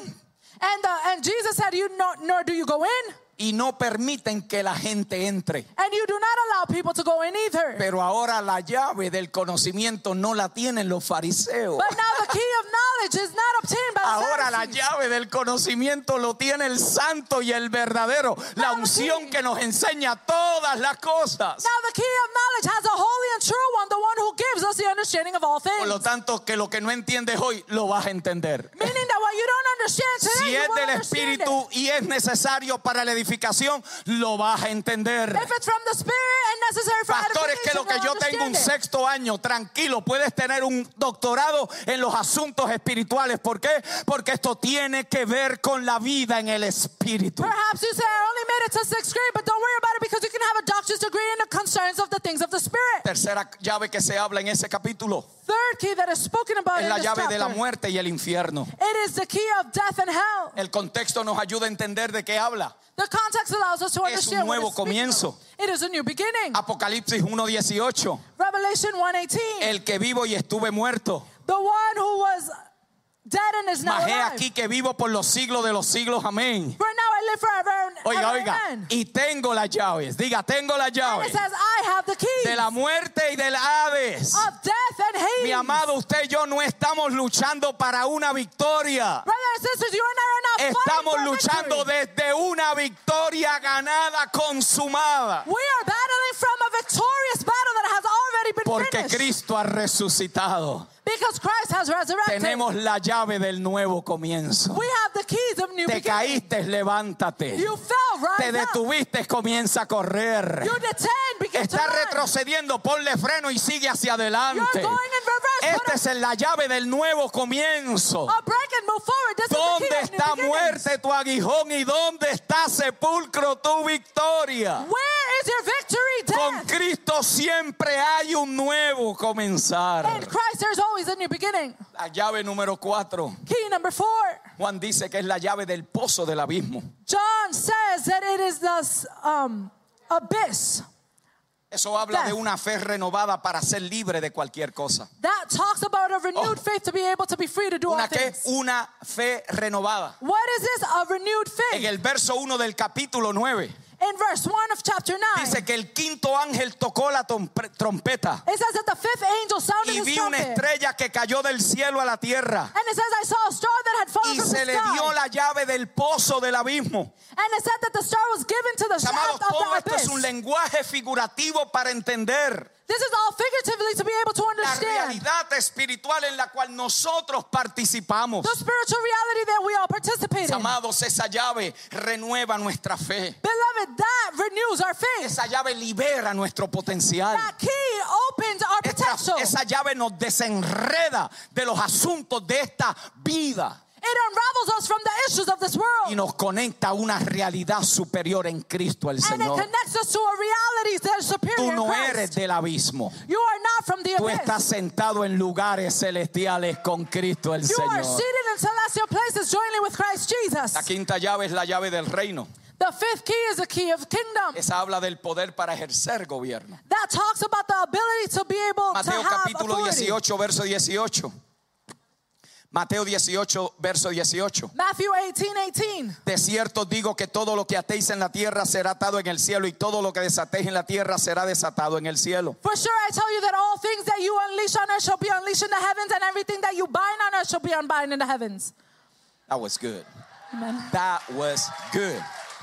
B: And Jesus said, nor do you go in,
A: y no permiten que la gente entre.
B: and you do not allow people to go in either.
A: Pero ahora la llave del conocimiento no la tienen los fariseos.
B: But now the key of knowledge is not obtained by the
A: Ahora la
B: Pharisees.
A: llave del conocimiento lo tiene el santo y el verdadero, la unción que nos enseña todas las cosas.
B: Now the key of knowledge has a holy and true one, the one who gives us the understanding of all
A: Por
B: things.
A: lo tanto, que lo que no entiendes hoy lo vas a entender.
B: Meaning that what you don't understand today,
A: Si
B: you
A: es
B: will
A: del
B: understand it.
A: Espíritu y es necesario para la edificación, lo vas a entender.
B: If it's from the Spirit and necessary for
A: Pastor, es que
B: edification,
A: lo que
B: you'll
A: yo tengo un
B: understand it.
A: sexto año, tranquilo, puedes tener un doctorado en los asuntos espirituales. ¿Por qué? Porque esto esto tiene que ver con la vida en el espíritu.
B: Perhaps you say, I only made it to 6th grade, but don't worry about it because you can have a doctor's degree in the concerns of the things of the Spirit.
A: Tercera llave que se habla en ese capítulo
B: Third key that is spoken about
A: es
B: in
A: la
B: this
A: llave de la
B: chapter.
A: muerte y el infierno.
B: It is the key of death and hell.
A: El contexto nos ayuda a entender de qué habla.
B: The context allows us to
A: Es un
B: understand what
A: nuevo
B: it's speaking
A: comienzo.
B: of. It is a new beginning.
A: Apocalipsis 1:18.
B: Revelation 1:18.
A: El que vivo y estuve muerto,
B: The one who was dead and is now
A: mas he
B: alive.
A: aquí que vivo por los siglos de los siglos. Amén.
B: For now I live forever and
A: Oiga,
B: ever.
A: oiga.
B: Amen.
A: Y tengo las llaves. Diga, tengo las
B: And
A: llaves
B: it says, I have the keys
A: de la muerte y del Hades.
B: of death and Hades.
A: Mi amado, usted y yo no estamos luchando para una victoria.
B: Brothers and sisters, you and I are not
A: Estamos
B: fighting for
A: luchando
B: victory.
A: desde una victoria ganada, consumada.
B: We are battling from a victorious battle that has already been
A: Porque
B: finished.
A: Cristo ha resucitado.
B: Because Christ has resurrected.
A: Tenemos la llave del nuevo comienzo.
B: We have the keys of new
A: Te
B: beginning.
A: caíste, levántate.
B: You fell,
A: Te
B: rise up.
A: detuviste, comienza a correr.
B: You detain, begin to
A: Está
B: run.
A: retrocediendo, ponle freno y sigue hacia
B: You're
A: adelante.
B: going in reverse. Put
A: Esta es la llave del nuevo comienzo.
B: a break and move forward. This
A: ¿Dónde
B: is the key of new
A: está
B: beginnings.
A: muerte tu aguijón y dónde está sepulcro tu victoria?
B: Where is your victory,
A: Con
B: death?
A: Cristo siempre hay un nuevo comenzar.
B: In Christ there's always a new beginning.
A: La llave número 4.
B: Key number 4.
A: Juan dice que es la llave del pozo del abismo.
B: John says that it is the abyss.
A: Eso habla
B: Death.
A: de una fe renovada para ser libre de cualquier cosa.
B: That talks about a renewed faith to be able to be free to do all
A: ¿Una qué?
B: things.
A: Una fe renovada.
B: What is this? A renewed
A: En
B: faith.
A: el verso 1 del capítulo 9
B: In verse 1 of chapter 9,
A: dice que el quinto ángel tocó la trompeta
B: it says that the fifth angel sounded
A: y
B: his
A: vi una
B: trumpet.
A: estrella que cayó del cielo a la tierra
B: And it says, I saw a star that had fallen
A: y
B: from
A: se
B: the
A: le
B: sky.
A: dio la llave del pozo del abismo.
B: And it said that the star was given to the
A: Mis amados,
B: shaft of
A: todo
B: the
A: esto es un
B: abyss.
A: lenguaje figurativo para entender
B: This is all figuratively to be able to
A: la
B: understand
A: realidad espiritual en la cual nosotros participamos.
B: the spiritual reality that we all participate
A: Mis
B: in.
A: amados, esa llave renueva nuestra fe.
B: Beloved, that renews our faith.
A: Esa llave libera nuestro potencial.
B: That key opens our potential.
A: Esa llave nos desenreda de los asuntos de esta vida
B: It unravels us from the issues of this world.
A: y nos conecta a una realidad superior en Cristo el
B: And it
A: Señor.
B: connects us to a reality that is superior
A: Tú
B: in
A: no
B: Christ.
A: eres del abismo.
B: You are not from the
A: Tú
B: abyss.
A: estás sentado en lugares celestiales con Cristo el
B: You are
A: Señor.
B: seated in celestial places jointly with Christ Jesus.
A: La quinta llave es la llave del reino.
B: The fifth key is the key of kingdom.
A: Esa habla del poder para ejercer gobierno.
B: That talks about the ability to be able to
A: Mateo
B: have
A: capítulo
B: authority.
A: 18, verso 18. Mateo 18, verso 18.
B: Matthew 18:18.
A: De cierto digo que todo lo que atéis en la tierra será atado en el cielo y todo lo que desatéis en la tierra será desatado en el cielo.
B: For sure I tell you that all things that you unleash on earth shall be unleashed in the heavens, and everything that you bind on earth shall be unbound in the heavens.
A: That was good.
B: Amen.
A: That was good.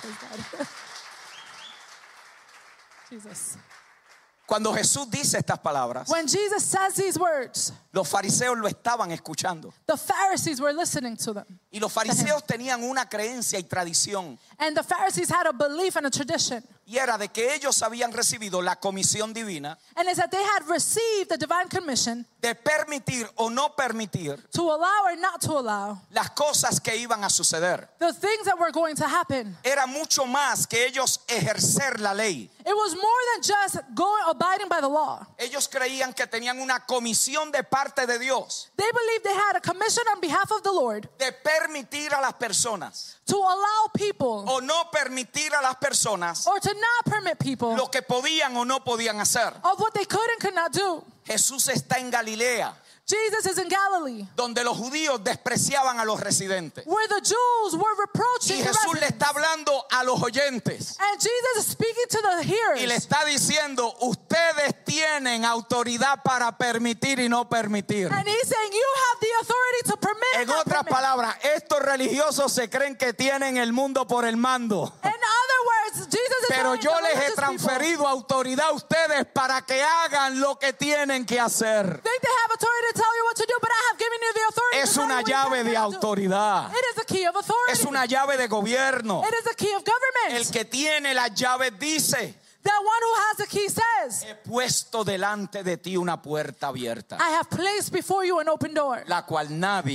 B: Jesus.
A: Cuando Jesús dice estas palabras,
B: When Jesus says these words,
A: los fariseos lo estaban escuchando.
B: the Pharisees were listening to them.
A: Y los fariseos tenían una creencia y tradición.
B: And the Pharisees had a belief and a tradition.
A: Y era de que ellos habían recibido la comisión divina
B: And it's that they had received the divine commission
A: de permitir o no permitir
B: to allow or not to allow
A: las cosas que iban a suceder.
B: the things that were going to happen.
A: Era mucho más que ellos ejercer la ley.
B: It was more than just abiding by the law.
A: Ellos creían que tenían una comisión de parte de Dios
B: They believed they had a commission on behalf of the Lord
A: de permitir a las personas
B: to allow people
A: o no permitir a las personas
B: or to not permit people
A: lo que podían o no podían hacer.
B: of what they could and could not do.
A: Jesús está en Galilea,
B: Jesus is in Galilee,
A: donde los judíos despreciaban a los residentes.
B: where the Jews were reproaching
A: Y
B: the
A: Jesús le
B: residents.
A: está hablando a los oyentes
B: And Jesus is speaking to the
A: y le
B: hearers.
A: está diciendo, ustedes tienen autoridad para permitir y no permitir.
B: And he's saying, you have the authority to permit and
A: En
B: not
A: otras
B: permit.
A: palabras, estos religiosos se creen que tienen el mundo por el mando.
B: In other words, Jesus is
A: Pero
B: telling
A: yo
B: the
A: les he
B: religious people,
A: transferido autoridad a ustedes para que hagan lo que tienen que hacer.
B: think they have authority to tell you what to do, but I have given you the authority
A: Es
B: to tell you
A: una
B: what you
A: llave
B: can
A: de
B: and cannot do.
A: autoridad.
B: It is a key of authority.
A: Es una llave de gobierno.
B: It is a key of
A: El
B: government.
A: que tiene las llaves dice,
B: That one who has the key says,
A: he puesto delante de ti una puerta abierta,
B: I have placed before you an open door
A: la cual nadie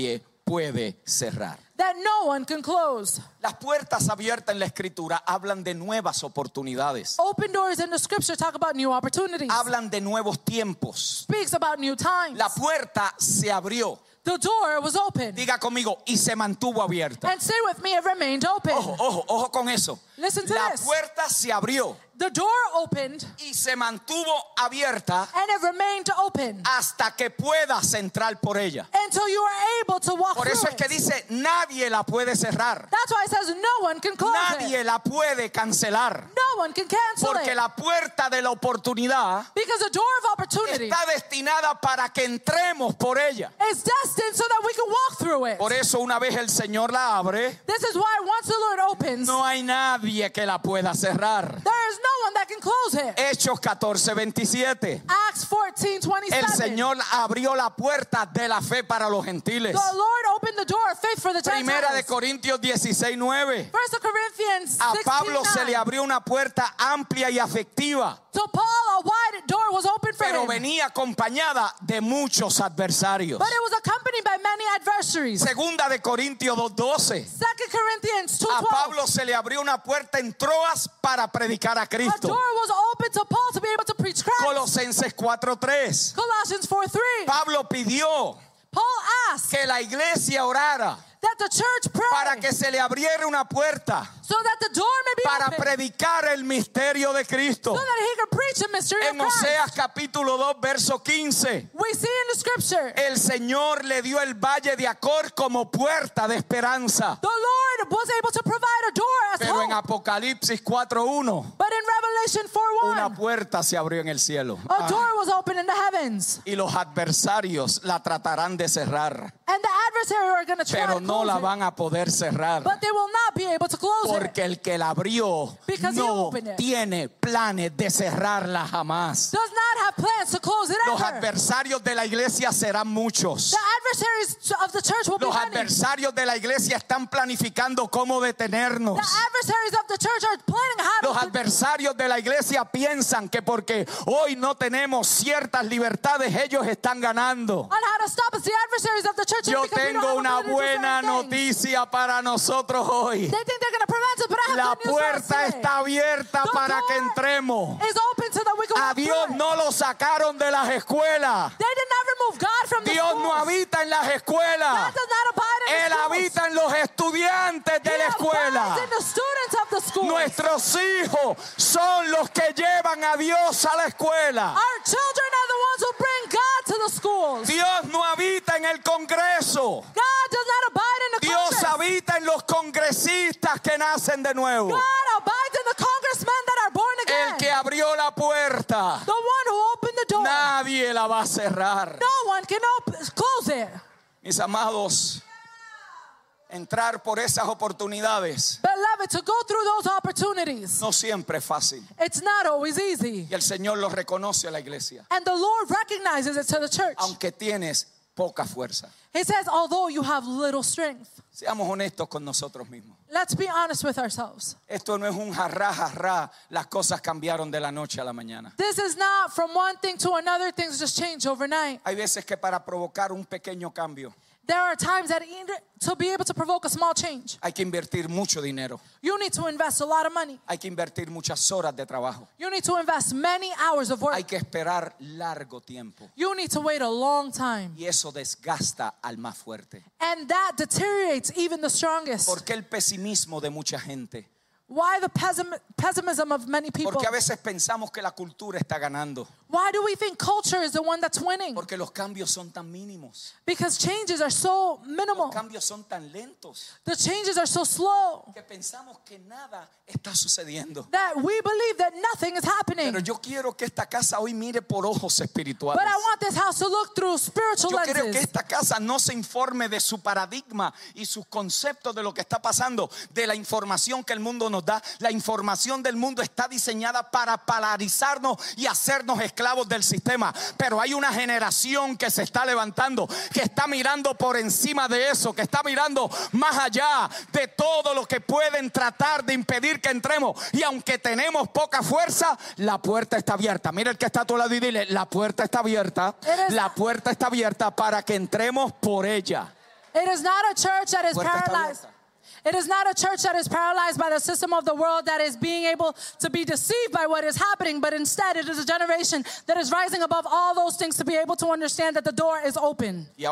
A: puede cerrar.
B: that no one can close.
A: Las puertas abiertas en la escritura hablan de nuevas oportunidades.
B: Open doors in the scripture talk about new opportunities.
A: Hablan de nuevos tiempos.
B: Speaks about new times.
A: La puerta se abrió.
B: The door was open.
A: Diga conmigo, y se mantuvo abierta.
B: And say with me, it remained open.
A: Ojo con eso.
B: Listen to
A: La
B: this.
A: puerta se abrió
B: The door opened
A: y se mantuvo abierta
B: and it remained open
A: hasta que puedas entrar por ella.
B: until you are able to walk
A: Por eso
B: through
A: es que
B: it.
A: dice, nadie la puede cerrar.
B: That's why it says no one can close
A: Nadie
B: it.
A: la puede cancelar.
B: No one can cancel
A: Porque
B: it.
A: la puerta de la oportunidad
B: Because the door of opportunity
A: está destinada para que entremos por ella.
B: is destined so that we can walk through it.
A: Por eso una vez el Señor la abre,
B: This is why once the Lord opens,
A: no hay nadie que la pueda cerrar.
B: there is no one that can close it.
A: Hechos 14:27.
B: Acts 14:27.
A: El Señor abrió la puerta de la fe para los gentiles.
B: The Lord opened the door of faith for the
A: Primera de
B: Gentiles.
A: Corintios 16:9.
B: 1 Corinthians
A: A Pablo se le
B: 16:9.
A: abrió una puerta amplia y afectiva,
B: To Paul, a wide door was open for
A: pero
B: him.
A: venía acompañada de muchos adversarios.
B: But it was accompanied by many adversaries.
A: Segunda de Corintios 2:12.
B: 2 Corinthians
A: A
B: 2:12.
A: Pablo se le abrió una puerta en Troas para predicar a
B: A
A: Cristo.
B: door was open to Paul to be able to preach Christ.
A: Colosenses 4:3.
B: Colossians 4:3.
A: Pablo pidió
B: Paul asked
A: que la iglesia orara
B: that the church pray
A: para que se le abriera una puerta
B: so that the door may be
A: para
B: open,
A: predicar el misterio de Cristo.
B: so that he can preach the mystery
A: En
B: of Christ.
A: Oseas capítulo 2 verso 15,
B: We see in the scripture
A: el Señor le dio el valle de Acor como puerta de esperanza.
B: the Lord was able to provide a door as
A: Pero en
B: hope.
A: Apocalipsis 4:1,
B: But in Revelation
A: una
B: 4:1,
A: puerta se abrió en el cielo.
B: a door was open in the heavens.
A: Y los adversarios la tratarán de cerrar,
B: And the adversary are going to try
A: pero
B: to
A: no
B: close
A: la
B: it.
A: van a poder cerrar.
B: But they will not be able to close it.
A: Porque el que la abrió
B: Because he
A: no
B: opened it.
A: tiene planes de cerrarla jamás.
B: Does not have plans to close it
A: Los
B: ever.
A: adversarios de la iglesia serán muchos.
B: The adversaries of the church will be
A: Los
B: many.
A: adversarios de la iglesia están planificando cómo detenernos.
B: The adversaries of the church are planning how
A: Los
B: to
A: adversarios de la iglesia piensan que porque hoy no tenemos ciertas libertades, ellos están ganando.
B: on how to stop us. The adversaries of the church think
A: Yo
B: because we don't
A: tengo
B: have
A: una
B: ability to do
A: buena
B: certain things.
A: noticia para nosotros hoy.
B: They think they're going to prevent us, but I have
A: La
B: good news for us
A: puerta
B: today.
A: está abierta
B: The
A: para que
B: door
A: entremos.
B: is open so that we can
A: A
B: walk
A: Dios
B: through it.
A: no lo sacaron de las escuelas.
B: They did not remove God from the
A: Dios
B: schools.
A: no habita en las escuelas.
B: God does not abide in
A: Él
B: the schools.
A: habita en los estudiantes de
B: He
A: la escuela.
B: abides in the students of the school.
A: Nuestros hijos son los que llevan a Dios a la escuela.
B: Our children are the ones who bring God to the schools.
A: Dios no habita en el Congreso.
B: God does not abide in the
A: Dios
B: Congress.
A: habita en los congresistas que nacen de nuevo.
B: God abides in the congressmen that are born again.
A: El que abrió la puerta,
B: The one who opened the door.
A: nadie la va a cerrar.
B: No one can close it.
A: Mis amados, entrar por esas oportunidades
B: Beloved, to go through those opportunities,
A: no siempre es fácil.
B: it's not always easy.
A: Y el Señor lo reconoce a la iglesia.
B: And the Lord recognizes it to the church.
A: Aunque tienes poca fuerza.
B: He says, although you have little strength.
A: Seamos honestos con nosotros mismos.
B: Let's be honest with ourselves.
A: Esto no es un jarrá, jarrá. Las cosas cambiaron de la noche a la mañana.
B: This is not from one thing to another, things just change overnight.
A: Hay veces que para provocar un pequeño cambio
B: There are times that to be able to provoke a small change,
A: hay que invertir mucho dinero.
B: you need to invest a lot of money.
A: Hay que invertir muchas horas de trabajo.
B: You need to invest many hours of work.
A: Hay que esperar largo tiempo.
B: You need to wait a long time.
A: Y eso desgasta al más fuerte.
B: And that deteriorates even the strongest.
A: ¿Por qué el pesimismo de mucha gente?
B: Why the pessimism of many people?
A: Porque a veces pensamos que la cultura está ganando.
B: Why do we think culture is the one that's winning?
A: Porque los cambios son tan mínimos.
B: Because changes are so minimal.
A: Los cambios son tan lentos
B: The changes are so slow
A: que pensamos que nada está sucediendo.
B: that we believe that nothing is happening.
A: Pero yo quiero que esta casa hoy mire por ojos espirituales.
B: But I want this house to look through spiritual
A: Yo creo que
B: lenses.
A: esta casa no se informe de su paradigma y sus conceptos de lo que está pasando, de la información que el mundo nos da. La información del mundo está diseñada para polarizarnos y hacernos esclavos del sistema. Pero hay una generación que se está levantando, que está mirando por encima de eso, que está mirando más allá de todo lo que pueden tratar de impedir que entremos. Y aunque tenemos poca fuerza, la puerta está abierta. Mira el que está a tu lado y dile: la puerta está abierta. La puerta está abierta para que entremos por ella.
B: It is not a church that is
A: Puerta está
B: paralyzed.
A: abierta.
B: It is not a church that is paralyzed by the system of the world, that is being able to be deceived by what is happening, but instead it is a generation that is rising above all those things to be able to understand that the door is open.
A: Y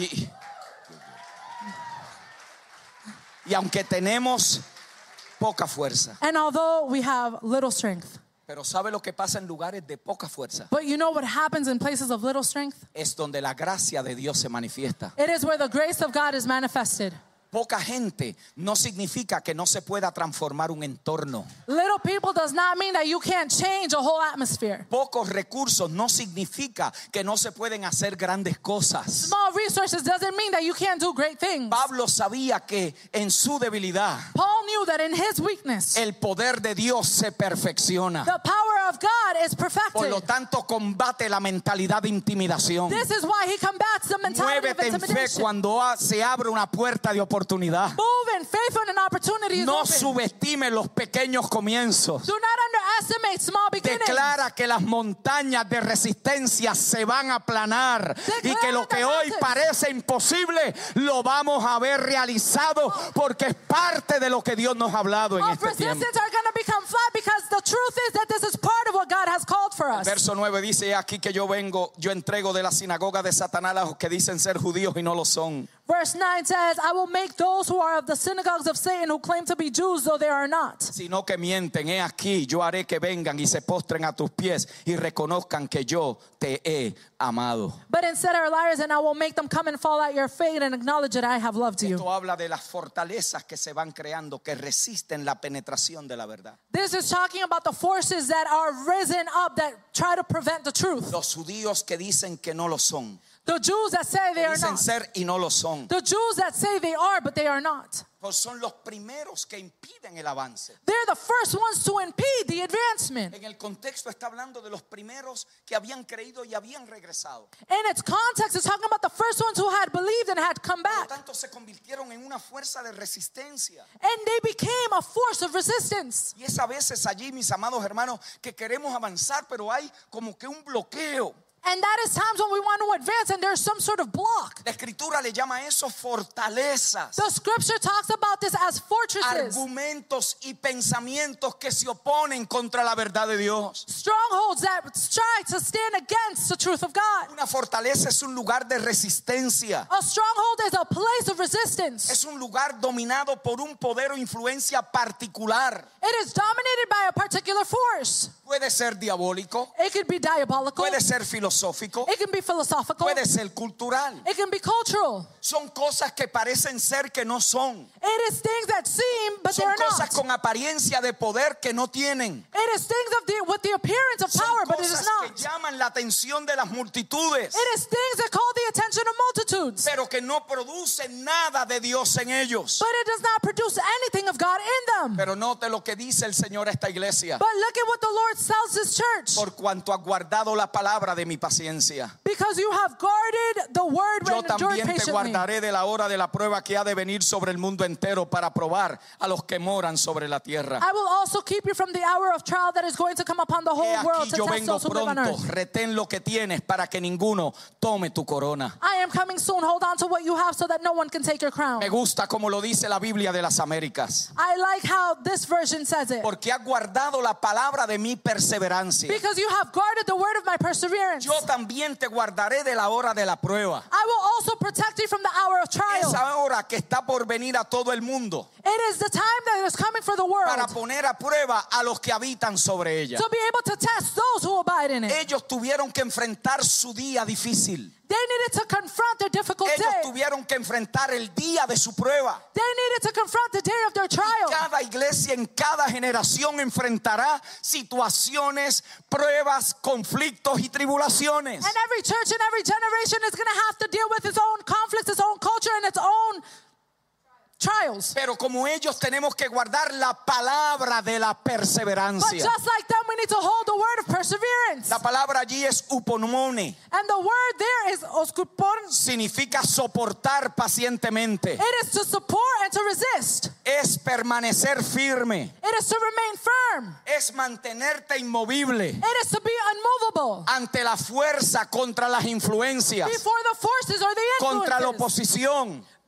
A: aunque tenemos poca fuerza,
B: And although we have little strength,
A: pero ¿sabe lo que pasa en lugares de poca fuerza?
B: but you know what happens in places of little strength?
A: Es donde la gracia de Dios se manifiesta.
B: It is where the grace of God is manifested.
A: Poca gente no significa que no se pueda transformar un entorno.
B: Little people does not mean that you can't change a whole atmosphere.
A: Pocos recursos no significa que no se pueden hacer grandes cosas.
B: Small resources doesn't mean that you can't do great things.
A: Pablo sabía que en su debilidad
B: Paul knew that in his weakness,
A: el poder de Dios se perfecciona.
B: the power of God is
A: Por
B: perfected.
A: lo tanto, combate la mentalidad de intimidación.
B: This is why he combats the mentality of
A: Muévete en fe
B: intimidation.
A: cuando se abre una puerta de oportunidad.
B: Move in faith when an opportunity is
A: No
B: open.
A: subestime los pequeños comienzos.
B: Do not underestimate small beginnings.
A: Declara que las montañas de resistencia se van a aplanar y que lo que hoy parece imposible lo vamos a ver realizado porque es parte de lo que Dios nos ha hablado en
B: All
A: este tiempo.
B: resistance are going to become flat because the truth is that this is part of what God has called for us.
A: Verso 9 dice: aquí que yo entrego de la sinagoga de Satanás a los que dicen ser judíos y no lo son.
B: Verse 9 says, I will make those who are of the synagogues of Satan who claim to be Jews, though they are not.
A: Sino que mienten. He aquí, yo haré que vengan y se postren a tus pies y reconozcan que yo te he amado.
B: But instead are liars, and I will make them come and fall at your feet and acknowledge that I have loved you.
A: Esto habla de las fortalezas que se van creando, que resisten la penetración de la verdad.
B: This is talking about the forces that are risen up that try to prevent the truth.
A: Los judíos que dicen que no lo son.
B: The Jews that say they are
A: Dicen
B: not.
A: ser y no lo son.
B: The Jews that say they are, but they are not.
A: Pues son los primeros que impiden el avance.
B: They're the first ones to impede the advancement.
A: En el contexto está hablando de los primeros que habían creído y habían regresado.
B: In its context, it's talking about the first ones who had believed and had come
A: Por lo
B: back.
A: tanto, se convirtieron en una fuerza de resistencia.
B: And they became a force of resistance.
A: Y es a veces allí, mis amados hermanos, que queremos avanzar, pero hay como que un bloqueo.
B: And that is times when we want to advance and there's some sort of block.
A: La Escritura le llama a eso fortalezas.
B: The scripture talks about this as fortresses,
A: Argumentos y pensamientos que se oponen contra la verdad de Dios.
B: strongholds that try to stand against the truth of God.
A: Una fortaleza es un lugar de resistencia.
B: A stronghold is a place of resistance.
A: Es un lugar dominado por un poder o influencia particular.
B: It is dominated by a particular force.
A: Puede ser diabólico,
B: It could be diabolical.
A: puede ser filosófico,
B: It can be philosophical.
A: puede ser cultural.
B: It can be cultural.
A: Son cosas que parecen ser que no son.
B: It is things that seem, but
A: Son
B: they're
A: cosas
B: not.
A: con apariencia de poder que no tienen.
B: It is things with the appearance of
A: Son
B: power, but it is
A: cosas
B: not.
A: que llaman la atención de las multitudes,
B: It is things that call the attention of multitudes,
A: pero que no producen nada de Dios en ellos.
B: but it does not produce anything of God in them.
A: Pero note lo que dice el Señor a esta iglesia.
B: But look at what the Lord tells this church.
A: Por cuanto has guardado la palabra de mi paciencia,
B: Because you have guarded the word
A: yo
B: and endured
A: también te
B: patiently.
A: guardaré de la hora de la prueba que ha de venir sobre el mundo entero para probar a los que moran sobre la tierra.
B: I will also keep you from the hour of trial that is going to come upon the
A: He
B: whole world
A: aquí
B: to
A: yo
B: test
A: vengo
B: those who live on
A: pronto,
B: earth.
A: retén lo que tienes para que ninguno tome tu corona.
B: I am coming soon. Hold on to what you have so that no one can take your crown.
A: Me gusta como lo dice la Biblia de las Américas.
B: I like how this version says it.
A: Porque has guardado la palabra de mi perseverancia.
B: Because you have guarded the word of my perseverance.
A: Yo también te guardaré de la hora de la prueba.
B: I will also protect you from the hour of trial.
A: Esa hora que está por venir a todo el mundo
B: It is the time that is coming for the
A: para
B: world
A: poner a prueba a los que habitan sobre ella.
B: to be able to test those who abide in it.
A: Ellos tuvieron que enfrentar su día difícil.
B: They needed to confront their difficult
A: Ellos
B: day.
A: tuvieron que enfrentar el día de su prueba.
B: They needed to confront the day of their trial.
A: Cada iglesia en cada generación enfrentará situaciones, pruebas, conflictos y tribulaciones.
B: And every church in every generation is going to have to deal with its own conflicts, its own culture, and its own trials.
A: Pero como ellos tenemos que guardar la palabra de la
B: But
A: perseverancia.
B: just like them, we need to hold the word of perseverance.
A: La palabra allí es uponomone.
B: And the word there is oskupon.
A: Significa soportar pacientemente.
B: It is to support and to resist.
A: Es permanecer firme.
B: It is to remain firm.
A: Es mantenerte inmovible
B: It is to be unmovable
A: ante la fuerza contra las influencias,
B: before the forces or the
A: contra la
B: influences,
A: oposición,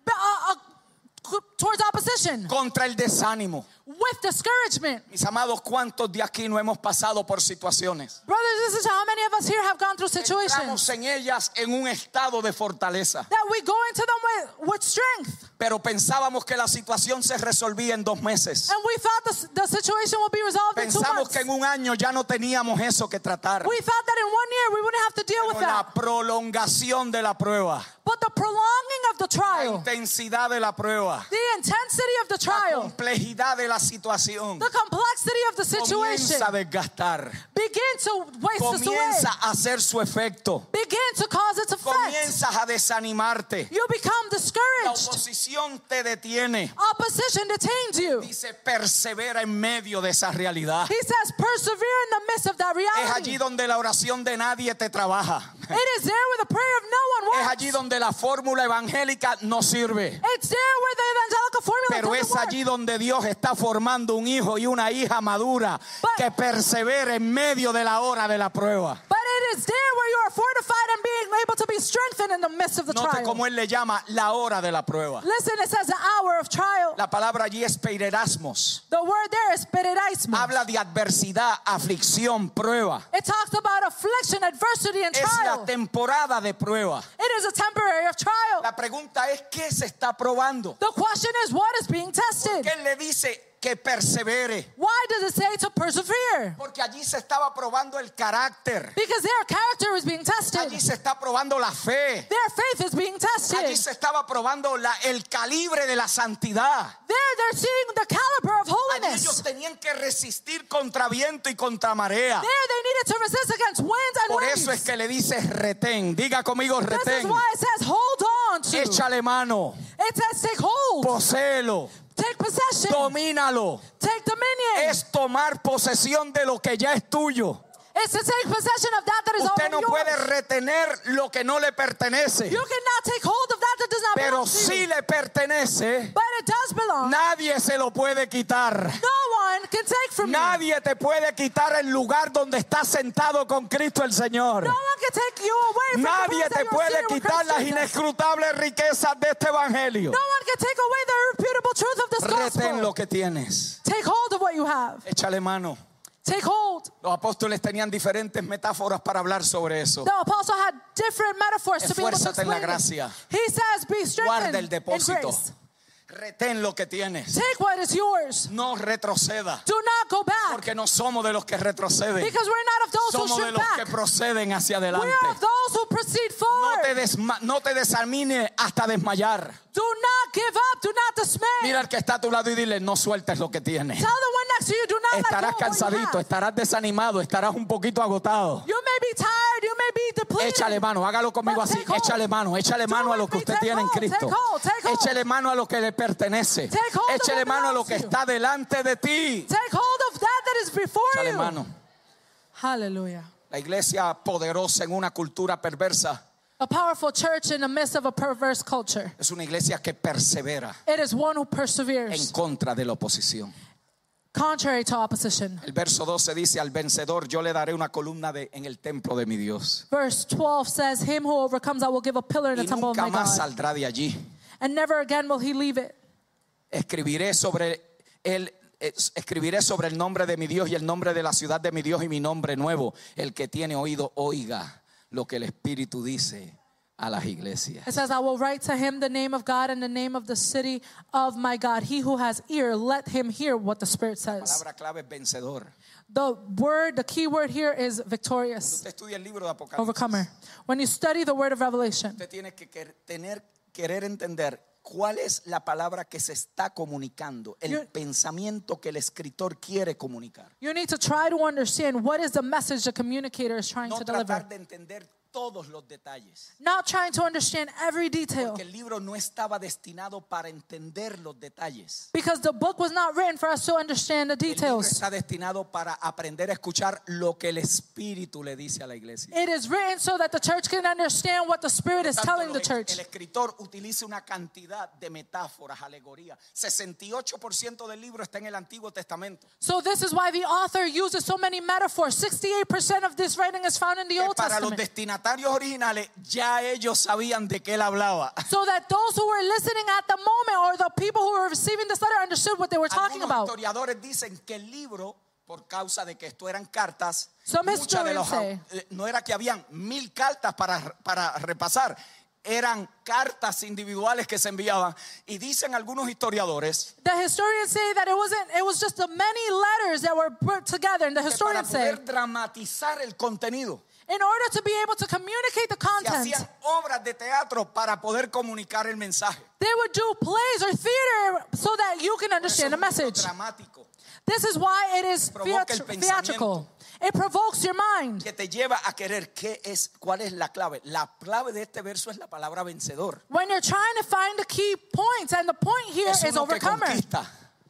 B: towards opposition,
A: contra el desánimo.
B: with discouragement.
A: Mis amados, ¿cuántos de aquí no hemos pasado por situaciones?
B: Brothers and sisters, how many of us here have gone through situations
A: Entramos en ellas en un estado de fortaleza,
B: that we go into them with strength,
A: pero pensábamos que la situación se resolvía en 2 meses.
B: and we thought the situation would be resolved in 2
A: Pensamos
B: months.
A: que en un año ya no teníamos eso que tratar.
B: We thought that in 1 year we wouldn't have to deal with
A: Pero la
B: that.
A: prolongación de la prueba,
B: But the prolonging of the
A: la
B: trial,
A: intensidad de la prueba,
B: the intensity of the
A: la
B: trial,
A: complejidad de la situación
B: the complexity of the situation
A: comienza a desgastar,
B: begin to waste us away,
A: comienza a hacer su efecto,
B: begin to cause its effect.
A: comienzas a desanimarte.
B: You become
A: La
B: discouraged.
A: oposición te detiene.
B: Opposition detains you.
A: Dice, persevera en medio de esa realidad.
B: He says, persevere in the midst of that
A: Es allí
B: reality.
A: donde la oración de nadie te trabaja.
B: It is there where the prayer of no one
A: Es
B: works.
A: allí donde la fórmula evangélica no sirve.
B: It's there where the evangelical formula
A: Pero es
B: doesn't work.
A: allí donde Dios está formando un hijo y una hija madura que persevere en medio de la hora de la prueba.
B: But it is there where you are fortified and being able to be strengthened in the midst of the
A: Note
B: trial.
A: cómo él le llama la hora de la prueba.
B: Listen, it says the hour of trial.
A: La palabra allí es peirerasmos.
B: The word there is peredaismos.
A: Habla de adversidad, aflicción, prueba.
B: It talks about affliction, adversity, and
A: Es la
B: trial.
A: temporada de prueba.
B: It is a temporary of trial.
A: La pregunta es, ¿qué se está probando?
B: The question is, what is being tested?
A: ¿Qué le dice que persevere?
B: Why does it say to persevere?
A: Porque allí se estaba probando el carácter.
B: Because their character is being tested.
A: Allí se está probando la fe.
B: Their faith is being tested.
A: Allí se estaba probando el calibre de la santidad.
B: There they're seeing the caliber of
A: Allí ellos
B: holiness.
A: tenían que resistir contra viento y contra marea.
B: There they needed to resist against winds and
A: Por
B: waves.
A: eso es que le dice retén. Diga conmigo
B: This is
A: retén.
B: why it says hold on to.
A: Échale mano.
B: It says take hold.
A: Poséelo.
B: Take possession.
A: Domínalo.
B: Take dominion.
A: Es tomar posesión de lo que ya es tuyo.
B: It's to take possession of that is
A: Usted
B: already
A: no puede
B: yours.
A: retener lo que no le pertenece.
B: You cannot take hold of that does not
A: Pero
B: belong to
A: si
B: you.
A: le pertenece,
B: But it does belong.
A: nadie se lo puede quitar.
B: No one can take from you.
A: Nadie te puede quitar el lugar donde estás sentado con Cristo el Señor.
B: No one can take you away from the
A: Nadie
B: place
A: te
B: that you're
A: puede
B: seated with
A: quitar
B: Christ
A: las
B: Jesus.
A: inescrutables riquezas de este evangelio.
B: No one can take away the irrefutable truth of this
A: Retén
B: gospel.
A: lo que tienes.
B: Take hold of what you have.
A: Échale mano.
B: Take hold.
A: Los apóstoles tenían diferentes metáforas para hablar sobre eso.
B: The apostle had different metaphors to be able to
A: Esfuérzate en la
B: explain it.
A: gracia.
B: He says, be strengthened
A: Guarda el
B: in
A: depósito.
B: grace.
A: Retén lo que tienes.
B: Take what is yours.
A: No retroceda.
B: Do not go back.
A: Porque no somos de los que retroceden.
B: Because we're not of those who
A: Somos de
B: shrink
A: los
B: back.
A: que proceden hacia
B: We
A: adelante.
B: are of those who proceed forward.
A: No te desanime hasta desmayar.
B: Do not give up. Do not dismay.
A: Mira al que está a tu lado y dile, no sueltes lo que tienes.
B: Tell the one next to you, do not let
A: Estarás
B: go of what you
A: cansadito,
B: have.
A: estarás desanimado, estarás un poquito agotado.
B: You may be tired. You may be depleted.
A: Échale mano, hágalo conmigo
B: But
A: así.
B: take hold.
A: Échale mano a lo que
B: with me.
A: usted
B: Take
A: tiene en
B: hold,
A: Cristo.
B: take hold, take hold.
A: Échale mano a lo que le pertenece.
B: Take hold of
A: Échale
B: what
A: mano a lo
B: belongs
A: que
B: to you.
A: está delante de ti.
B: Take hold of that is before
A: Échale
B: you.
A: mano.
B: Hallelujah.
A: La iglesia poderosa en una cultura perversa
B: A powerful church in the midst of a perverse culture.
A: es una iglesia que persevera
B: It is one who
A: en
B: perseveres
A: contra de la oposición.
B: contrary to opposition.
A: El verso 12 dice, al vencedor yo le daré una columna en el templo de mi Dios.
B: Verse 12 says, him who overcomes I will give a pillar in the
A: Y
B: temple of
A: nunca
B: my
A: más
B: God.
A: saldrá de allí.
B: And never again will he leave it.
A: Escribiré sobre el nombre de mi Dios y el nombre de la ciudad de mi Dios y mi nombre nuevo. El que tiene oído, oiga lo que el Espíritu dice a las iglesias.
B: It says, I will write to him the name of God and the name of the city of my God. He who has ear, let him hear what the Spirit
A: La
B: says.
A: palabra clave es vencedor.
B: The key word here is victorious,
A: Usted estudia el libro de Apocalipsis.
B: overcomer. When you study the word of Revelation,
A: Usted tiene que querer entender cuál es la palabra que se está comunicando, el pensamiento que el escritor quiere comunicar.
B: you need to try to understand what is the message the communicator is trying
A: No
B: to deliver.
A: tratar de entender todos los detalles.
B: Not trying to understand every detail.
A: Porque el libro no estaba destinado para entender los detalles.
B: Because the book was not written for us to understand the
A: El libro
B: details.
A: está destinado para aprender a escuchar lo que el Espíritu le dice a la iglesia.
B: It is written so that the church can understand what the Spirit is
A: Tanto,
B: telling the church.
A: el escritor utiliza una cantidad de metáforas, alegorías. 68% del libro está en el Antiguo Testamento.
B: So this is why the author uses so many metaphors. 68% of this writing is found in the Old
A: Para los
B: Testament.
A: destinatarios originales ya ellos sabían de qué él hablaba.
B: So that those who were listening at the moment, or the people who were receiving this letter, understood what they were talking
A: Algunos
B: about.
A: historiadores dicen que el libro, por causa de que esto eran cartas,
B: Some
A: muchas de
B: historians
A: no era que habían 1000 cartas para repasar, eran cartas individuales que se enviaban. Y dicen algunos historiadores
B: The historians say that it was just the many letters that were put together, and the
A: que para
B: historians say,
A: poder dramatizar el contenido,
B: in order to be able to communicate the
A: se
B: content,
A: hacían obras de teatro para poder comunicar el mensaje.
B: they would do plays or theater so that you can
A: Eso
B: understand
A: es
B: the
A: un libro
B: message.
A: dramático
B: This is why it is
A: Provoca el
B: theatrical. It provokes your mind.
A: que te lleva a querer. ¿Cuál es la clave? La clave de este verso es la palabra vencedor.
B: When you're trying to find the key points, and the point here
A: Es
B: is
A: uno que
B: overcomer.
A: conquista.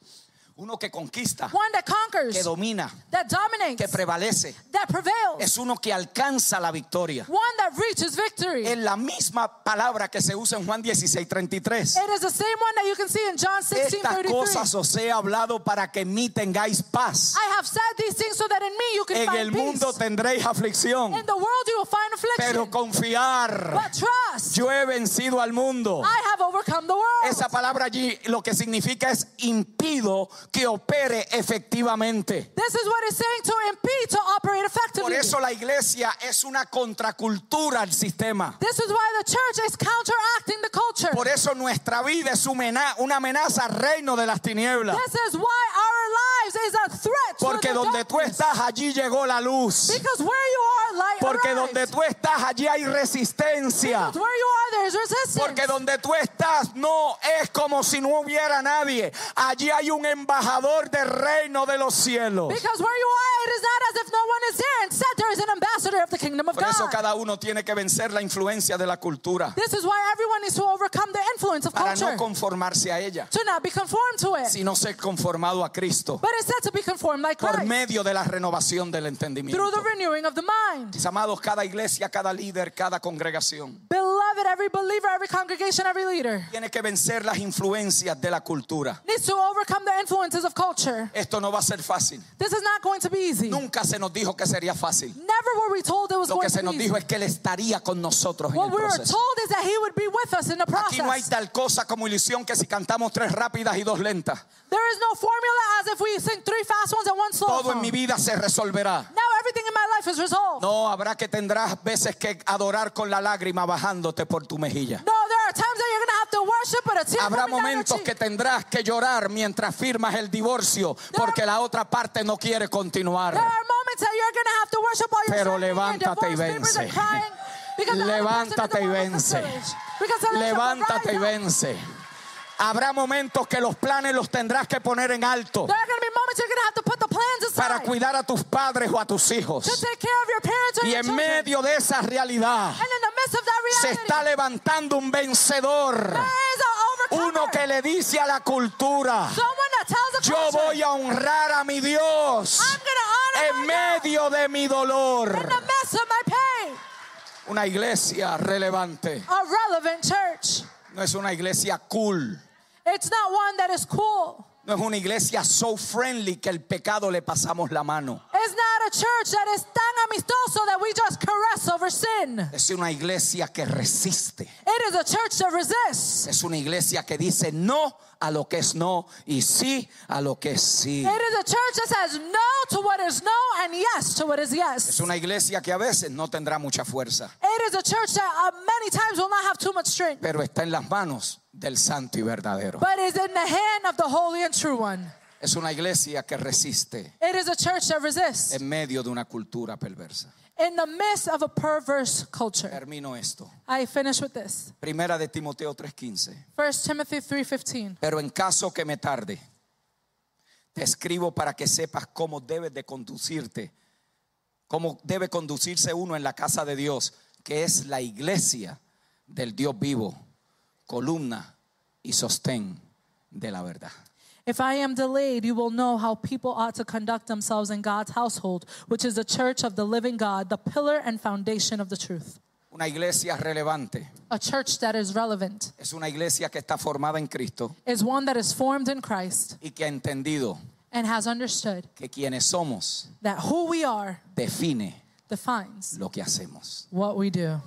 A: Uno que conquista,
B: One that conquers,
A: que domina,
B: that dominates,
A: que prevalece.
B: that prevails.
A: Es uno que alcanza la victoria.
B: One that reaches victory.
A: Es la misma palabra que se usa en Juan 16:33.
B: It is the same one that you can see in John
A: Estas
B: 16:33.
A: cosas os he hablado para que en mí tengáis paz.
B: I have said these things so that in me you can
A: En
B: find
A: el
B: peace.
A: mundo tendréis aflicción,
B: In the world you will find
A: pero
B: affliction.
A: confiar.
B: But trust,
A: Yo he vencido al mundo.
B: I have overcome the world.
A: Esa palabra allí lo que significa es impido que opere efectivamente.
B: This is what it's saying, to impede, to operate
A: Por
B: effectively.
A: eso la iglesia es una contracultura al sistema.
B: This is why the church is counteracting the culture.
A: Por eso nuestra vida es una amenaza al reino de las tinieblas.
B: This is why our lives is a threat
A: Porque
B: to the
A: donde tú
B: darkness.
A: estás, allí llegó la luz.
B: Because where you are, light
A: Porque
B: arrives.
A: donde tú estás, allí hay resistencia.
B: Because where you are, there is resistance.
A: Porque donde tú estás no es como si no hubiera nadie. Allí hay un embajador del reino de los cielos.
B: Because where you are, it is not as if no one is there. Instead, there is an ambassador of the kingdom of
A: Por eso
B: God.
A: cada uno tiene que vencer la influencia de la cultura
B: This is why everyone needs to overcome the influence of
A: para
B: culture.
A: no conformarse a ella,
B: To not be conformed to it.
A: sino ser conformado a Cristo
B: But instead to be conformed like
A: por
B: Christ.
A: medio de la renovación del entendimiento.
B: Through the renewing of the mind.
A: Mis amados, cada iglesia, cada líder, cada congregación
B: Beloved, every believer, every congregation, every leader
A: tiene que vencer las influencias de la cultura.
B: needs to overcome the influences of culture.
A: Esto no va a ser fácil.
B: This is not going to be easy.
A: Nunca se nos dijo que sería fácil.
B: Never were we told it was
A: Lo
B: going
A: que se
B: to
A: nos
B: be easy.
A: dijo es que Él estaría con nosotros en
B: What
A: el
B: we were
A: proceso.
B: told is that He would be with us in the
A: Aquí no hay
B: process.
A: tal cosa como ilusión que si cantamos 3 rápidas y 2 lentas.
B: There is no formula as if we sing 3 fast ones and 1 slow
A: Todo en
B: song.
A: mi vida se resolverá.
B: Now everything in my life is resolved.
A: No, habrá que tendrás veces que adorar con la lágrima bajándote por tu mejilla.
B: No, there are times that you're going to have to worship, but a tear
A: Habrá
B: coming down your
A: momentos
B: cheek.
A: que tendrás que llorar mientras firmas el divorcio porque la otra parte no quiere continuar.
B: There are moments that you're going to have to worship while you're
A: Pero
B: signing your
A: levántate y
B: divorce papers and
A: vence.
B: crying because the other person
A: Levántate
B: doesn't
A: y
B: want to
A: vence.
B: courage. Because the relationship will
A: Levántate y
B: rise up.
A: vence. Habrá momentos que los planes los tendrás que poner en alto
B: There are going to be moments you're going to have to put the plans
A: para
B: aside
A: cuidar a tus padres o a tus hijos.
B: to take care of your parents or
A: Y
B: your
A: en
B: children.
A: medio de esa realidad
B: And in the midst of that
A: se
B: reality,
A: está levantando un vencedor.
B: there is an overcomer.
A: Uno que le dice a la cultura:
B: Someone that tells the
A: yo
B: culture,
A: voy a honrar a mi Dios
B: I'm going to honor
A: en
B: my God
A: medio de mi dolor.
B: in the midst of my pain.
A: Una iglesia relevante
B: A relevant church.
A: no es una iglesia cool.
B: It's not one that is cool.
A: No es una iglesia so friendly que el pecado le pasamos la mano.
B: It's not a church that is tan amistoso that we just caress over sin.
A: Es una iglesia que resiste.
B: It is a church that resists.
A: Es una iglesia que dice no a lo que es no y sí a lo que es sí.
B: It is a church that says no to what is no and yes to what is
A: Es
B: yes.
A: una iglesia que a veces no tendrá mucha fuerza,
B: It is a church that many times will not have too much strength,
A: pero está en las manos del santo y verdadero.
B: but is in the hand of the holy and true one.
A: Es una iglesia que resiste
B: It is a church that resists
A: en medio de una cultura perversa.
B: in the midst of a perverse culture.
A: Termino esto.
B: I finish with this.
A: Primera de Timoteo 3:15.
B: 1 Timothy 3:15.
A: Pero en caso que me tarde, te escribo para que sepas cómo debes de conducirte, cómo debe conducirse uno en la casa de Dios, que es la iglesia del Dios vivo, columna y sostén de la verdad.
B: If I am delayed, you will know how people ought to conduct themselves in God's household, which is the church of the living God, the pillar and foundation of the truth.
A: Una iglesia relevante
B: A church that is relevant
A: es una iglesia que está formada en Cristo
B: is one that is formed in Christ
A: y que ha entendido
B: and has understood
A: que quienes somos
B: that who we are
A: define
B: defines
A: lo que hacemos.
B: what we do.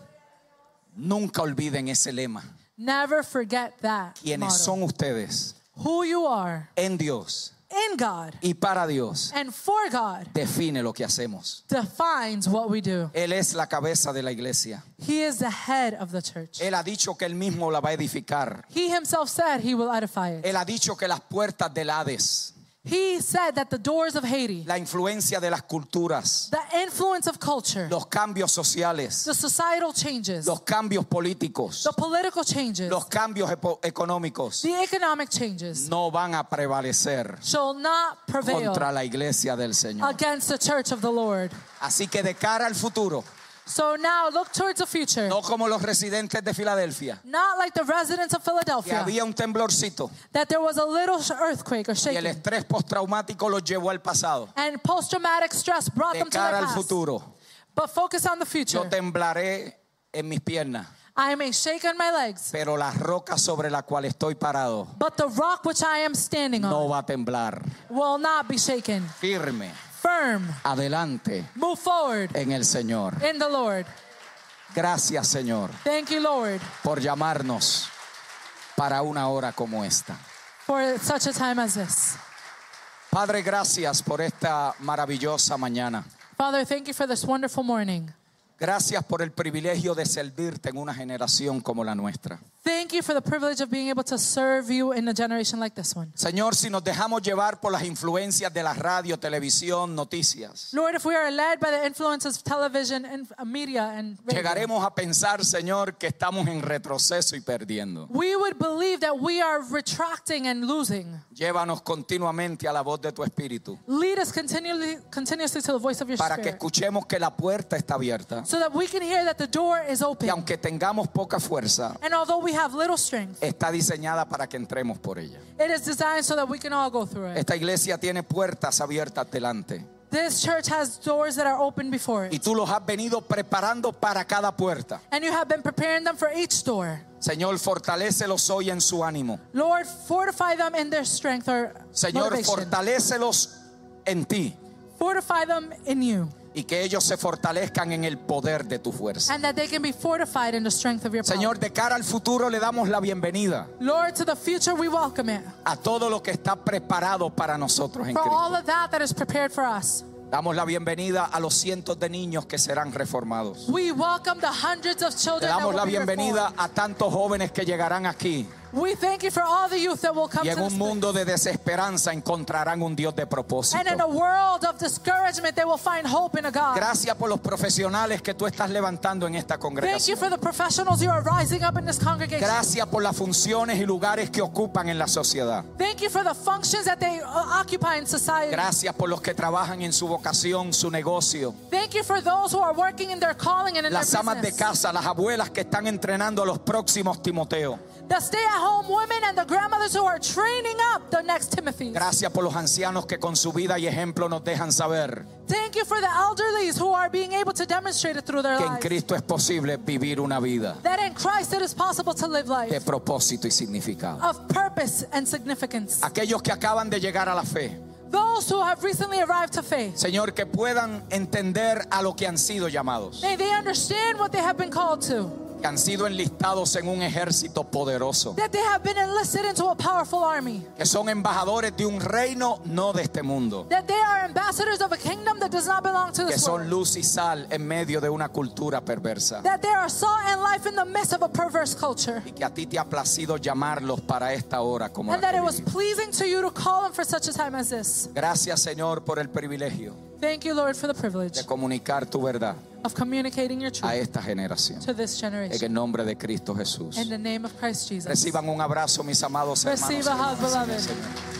A: Nunca olviden ese lema.
B: Never forget that
A: Quienes
B: motto.
A: son ustedes
B: Who you are
A: en Dios
B: in God
A: y para Dios
B: and for God
A: define lo que hacemos.
B: defines what we do.
A: Él es la cabeza de la iglesia.
B: He is the head of the church.
A: Él ha dicho que él mismo la va a edificar.
B: He himself said he will edify it.
A: Él ha dicho que las puertas del Hades,
B: He said that the doors of Hades,
A: la influencia de las culturas,
B: the influence of culture,
A: los cambios sociales,
B: the societal changes,
A: los cambios políticos,
B: the political changes,
A: los cambios económicos
B: the economic changes
A: no van a prevalecer
B: shall not prevail
A: contra la iglesia del Señor.
B: against the church of the Lord.
A: Así que de cara al futuro,
B: So now look towards the future.
A: no como los residentes de Filadelfia,
B: Not like the residents of
A: que
B: Philadelphia,
A: había un temblorcito
B: that there was a little earthquake or
A: y el
B: shaking.
A: estrés postraumático los llevó al pasado.
B: And post-traumatic stress brought
A: De
B: them to
A: cara
B: their
A: al
B: past.
A: futuro,
B: But focus on the
A: yo
B: future.
A: temblaré en mis piernas,
B: I may shake on my legs,
A: pero la roca sobre la cual estoy parado
B: but the rock which I am standing
A: no
B: on
A: va a temblar.
B: will not be shaken.
A: Firme,
B: Firm.
A: adelante
B: Move forward
A: en el Señor.
B: in the Lord.
A: Gracias, Señor,
B: Thank you, Lord,
A: por llamarnos para una hora como esta.
B: for such a time as this.
A: Padre, gracias por esta maravillosa mañana.
B: Father, thank you for this wonderful morning.
A: Gracias por el privilegio de servirte en una generación como la nuestra.
B: Thank you for the privilege of being able to serve you in a generation like this one.
A: Señor, si nos dejamos llevar por las influencias de la radio, televisión, noticias,
B: Lord, if we are led by the influences of television and media and radio,
A: llegaremos a pensar, Señor, que estamos en retroceso y perdiendo.
B: we would believe that we are retracting and losing.
A: Llévanos continuamente a la voz de tu Espíritu
B: Lead us continuously to the voice of your
A: para que
B: Spirit,
A: escuchemos que la puerta está abierta
B: so that we can hear that the door is
A: y
B: open.
A: aunque tengamos poca fuerza,
B: And although we have little strength,
A: está diseñada para que entremos por ella.
B: it is designed so that we can all go through it.
A: Esta iglesia tiene puertas abiertas delante
B: This church has doors that are open before
A: y
B: it.
A: tú los has venido preparando para cada puerta.
B: And you have been preparing them for each door.
A: Señor, fortalécelos hoy en su ánimo.
B: Lord, fortify them in their strength or
A: Señor,
B: motivation.
A: fortalécelos en ti
B: Fortify them in you.
A: y que ellos se fortalezcan en el poder de tu fuerza.
B: And that they can be fortified in the strength of your power.
A: Señor, de cara al futuro le damos la bienvenida
B: Lord, to the future we welcome it.
A: a todo lo que está preparado para nosotros en
B: For all
A: Cristo.
B: of that is prepared for us.
A: Damos la bienvenida a los cientos de niños que serán reformados.
B: We welcome the hundreds of
A: Le
B: children that
A: damos
B: will
A: la
B: be
A: bienvenida
B: reformed.
A: a tantos jóvenes que llegarán aquí
B: We thank you for all the youth that will come
A: y
B: to
A: en un
B: this
A: mundo de desesperanza encontrarán un Dios de propósito.
B: And in a world of discouragement, they will find hope in a God.
A: Gracias por los profesionales que tú estás levantando en esta
B: Thank you
A: congregación.
B: for the professionals you are rising up in this congregation.
A: Gracias por las funciones y lugares que ocupan en la sociedad.
B: Thank you for the functions that they occupy in society.
A: Gracias por los que trabajan en su vocación, su negocio.
B: Thank you for those who are working in their calling and in
A: Las
B: their
A: amas de
B: business.
A: casa, las abuelas que están entrenando a los próximos Timoteo.
B: The stay-at-home women and the grandmothers who are training up the next Timothy.
A: Gracias por los ancianos que con su vida y ejemplo nos dejan saber
B: Thank you for the elderlies who are being able to demonstrate it through their
A: que en
B: lives.
A: Cristo es posible vivir una vida
B: That in Christ it is possible to live
A: de
B: life
A: propósito y significado.
B: of purpose and significance.
A: Aquellos que acaban de llegar a la fe,
B: Those who have recently arrived to faith,
A: Señor, que puedan entender a lo que han sido llamados,
B: may they understand what they have been called to.
A: que han sido enlistados en un ejército poderoso,
B: That they have been enlisted into a powerful army.
A: que son embajadores de un reino no de este mundo,
B: That they are ambassadors of a kingdom that does not belong to
A: que
B: this
A: son
B: world.
A: luz y sal en medio de una cultura perversa,
B: That they are salt and life in the midst of a perverse culture.
A: y que a ti te ha placido llamarlos para esta hora como
B: And
A: la
B: that
A: que
B: it was
A: vivimos.
B: pleasing to you to call them for such a time as this.
A: Gracias, Señor, por el privilegio
B: Thank you, Lord, for the privilege
A: de comunicar tu verdad
B: of communicating your
A: a
B: truth
A: esta generación.
B: to this
A: En
B: generation.
A: el nombre de Cristo Jesús.
B: In the name of Christ Jesus.
A: Reciban un abrazo, mis amados hermanos.
B: Receive a hug, beloved.
A: Señor.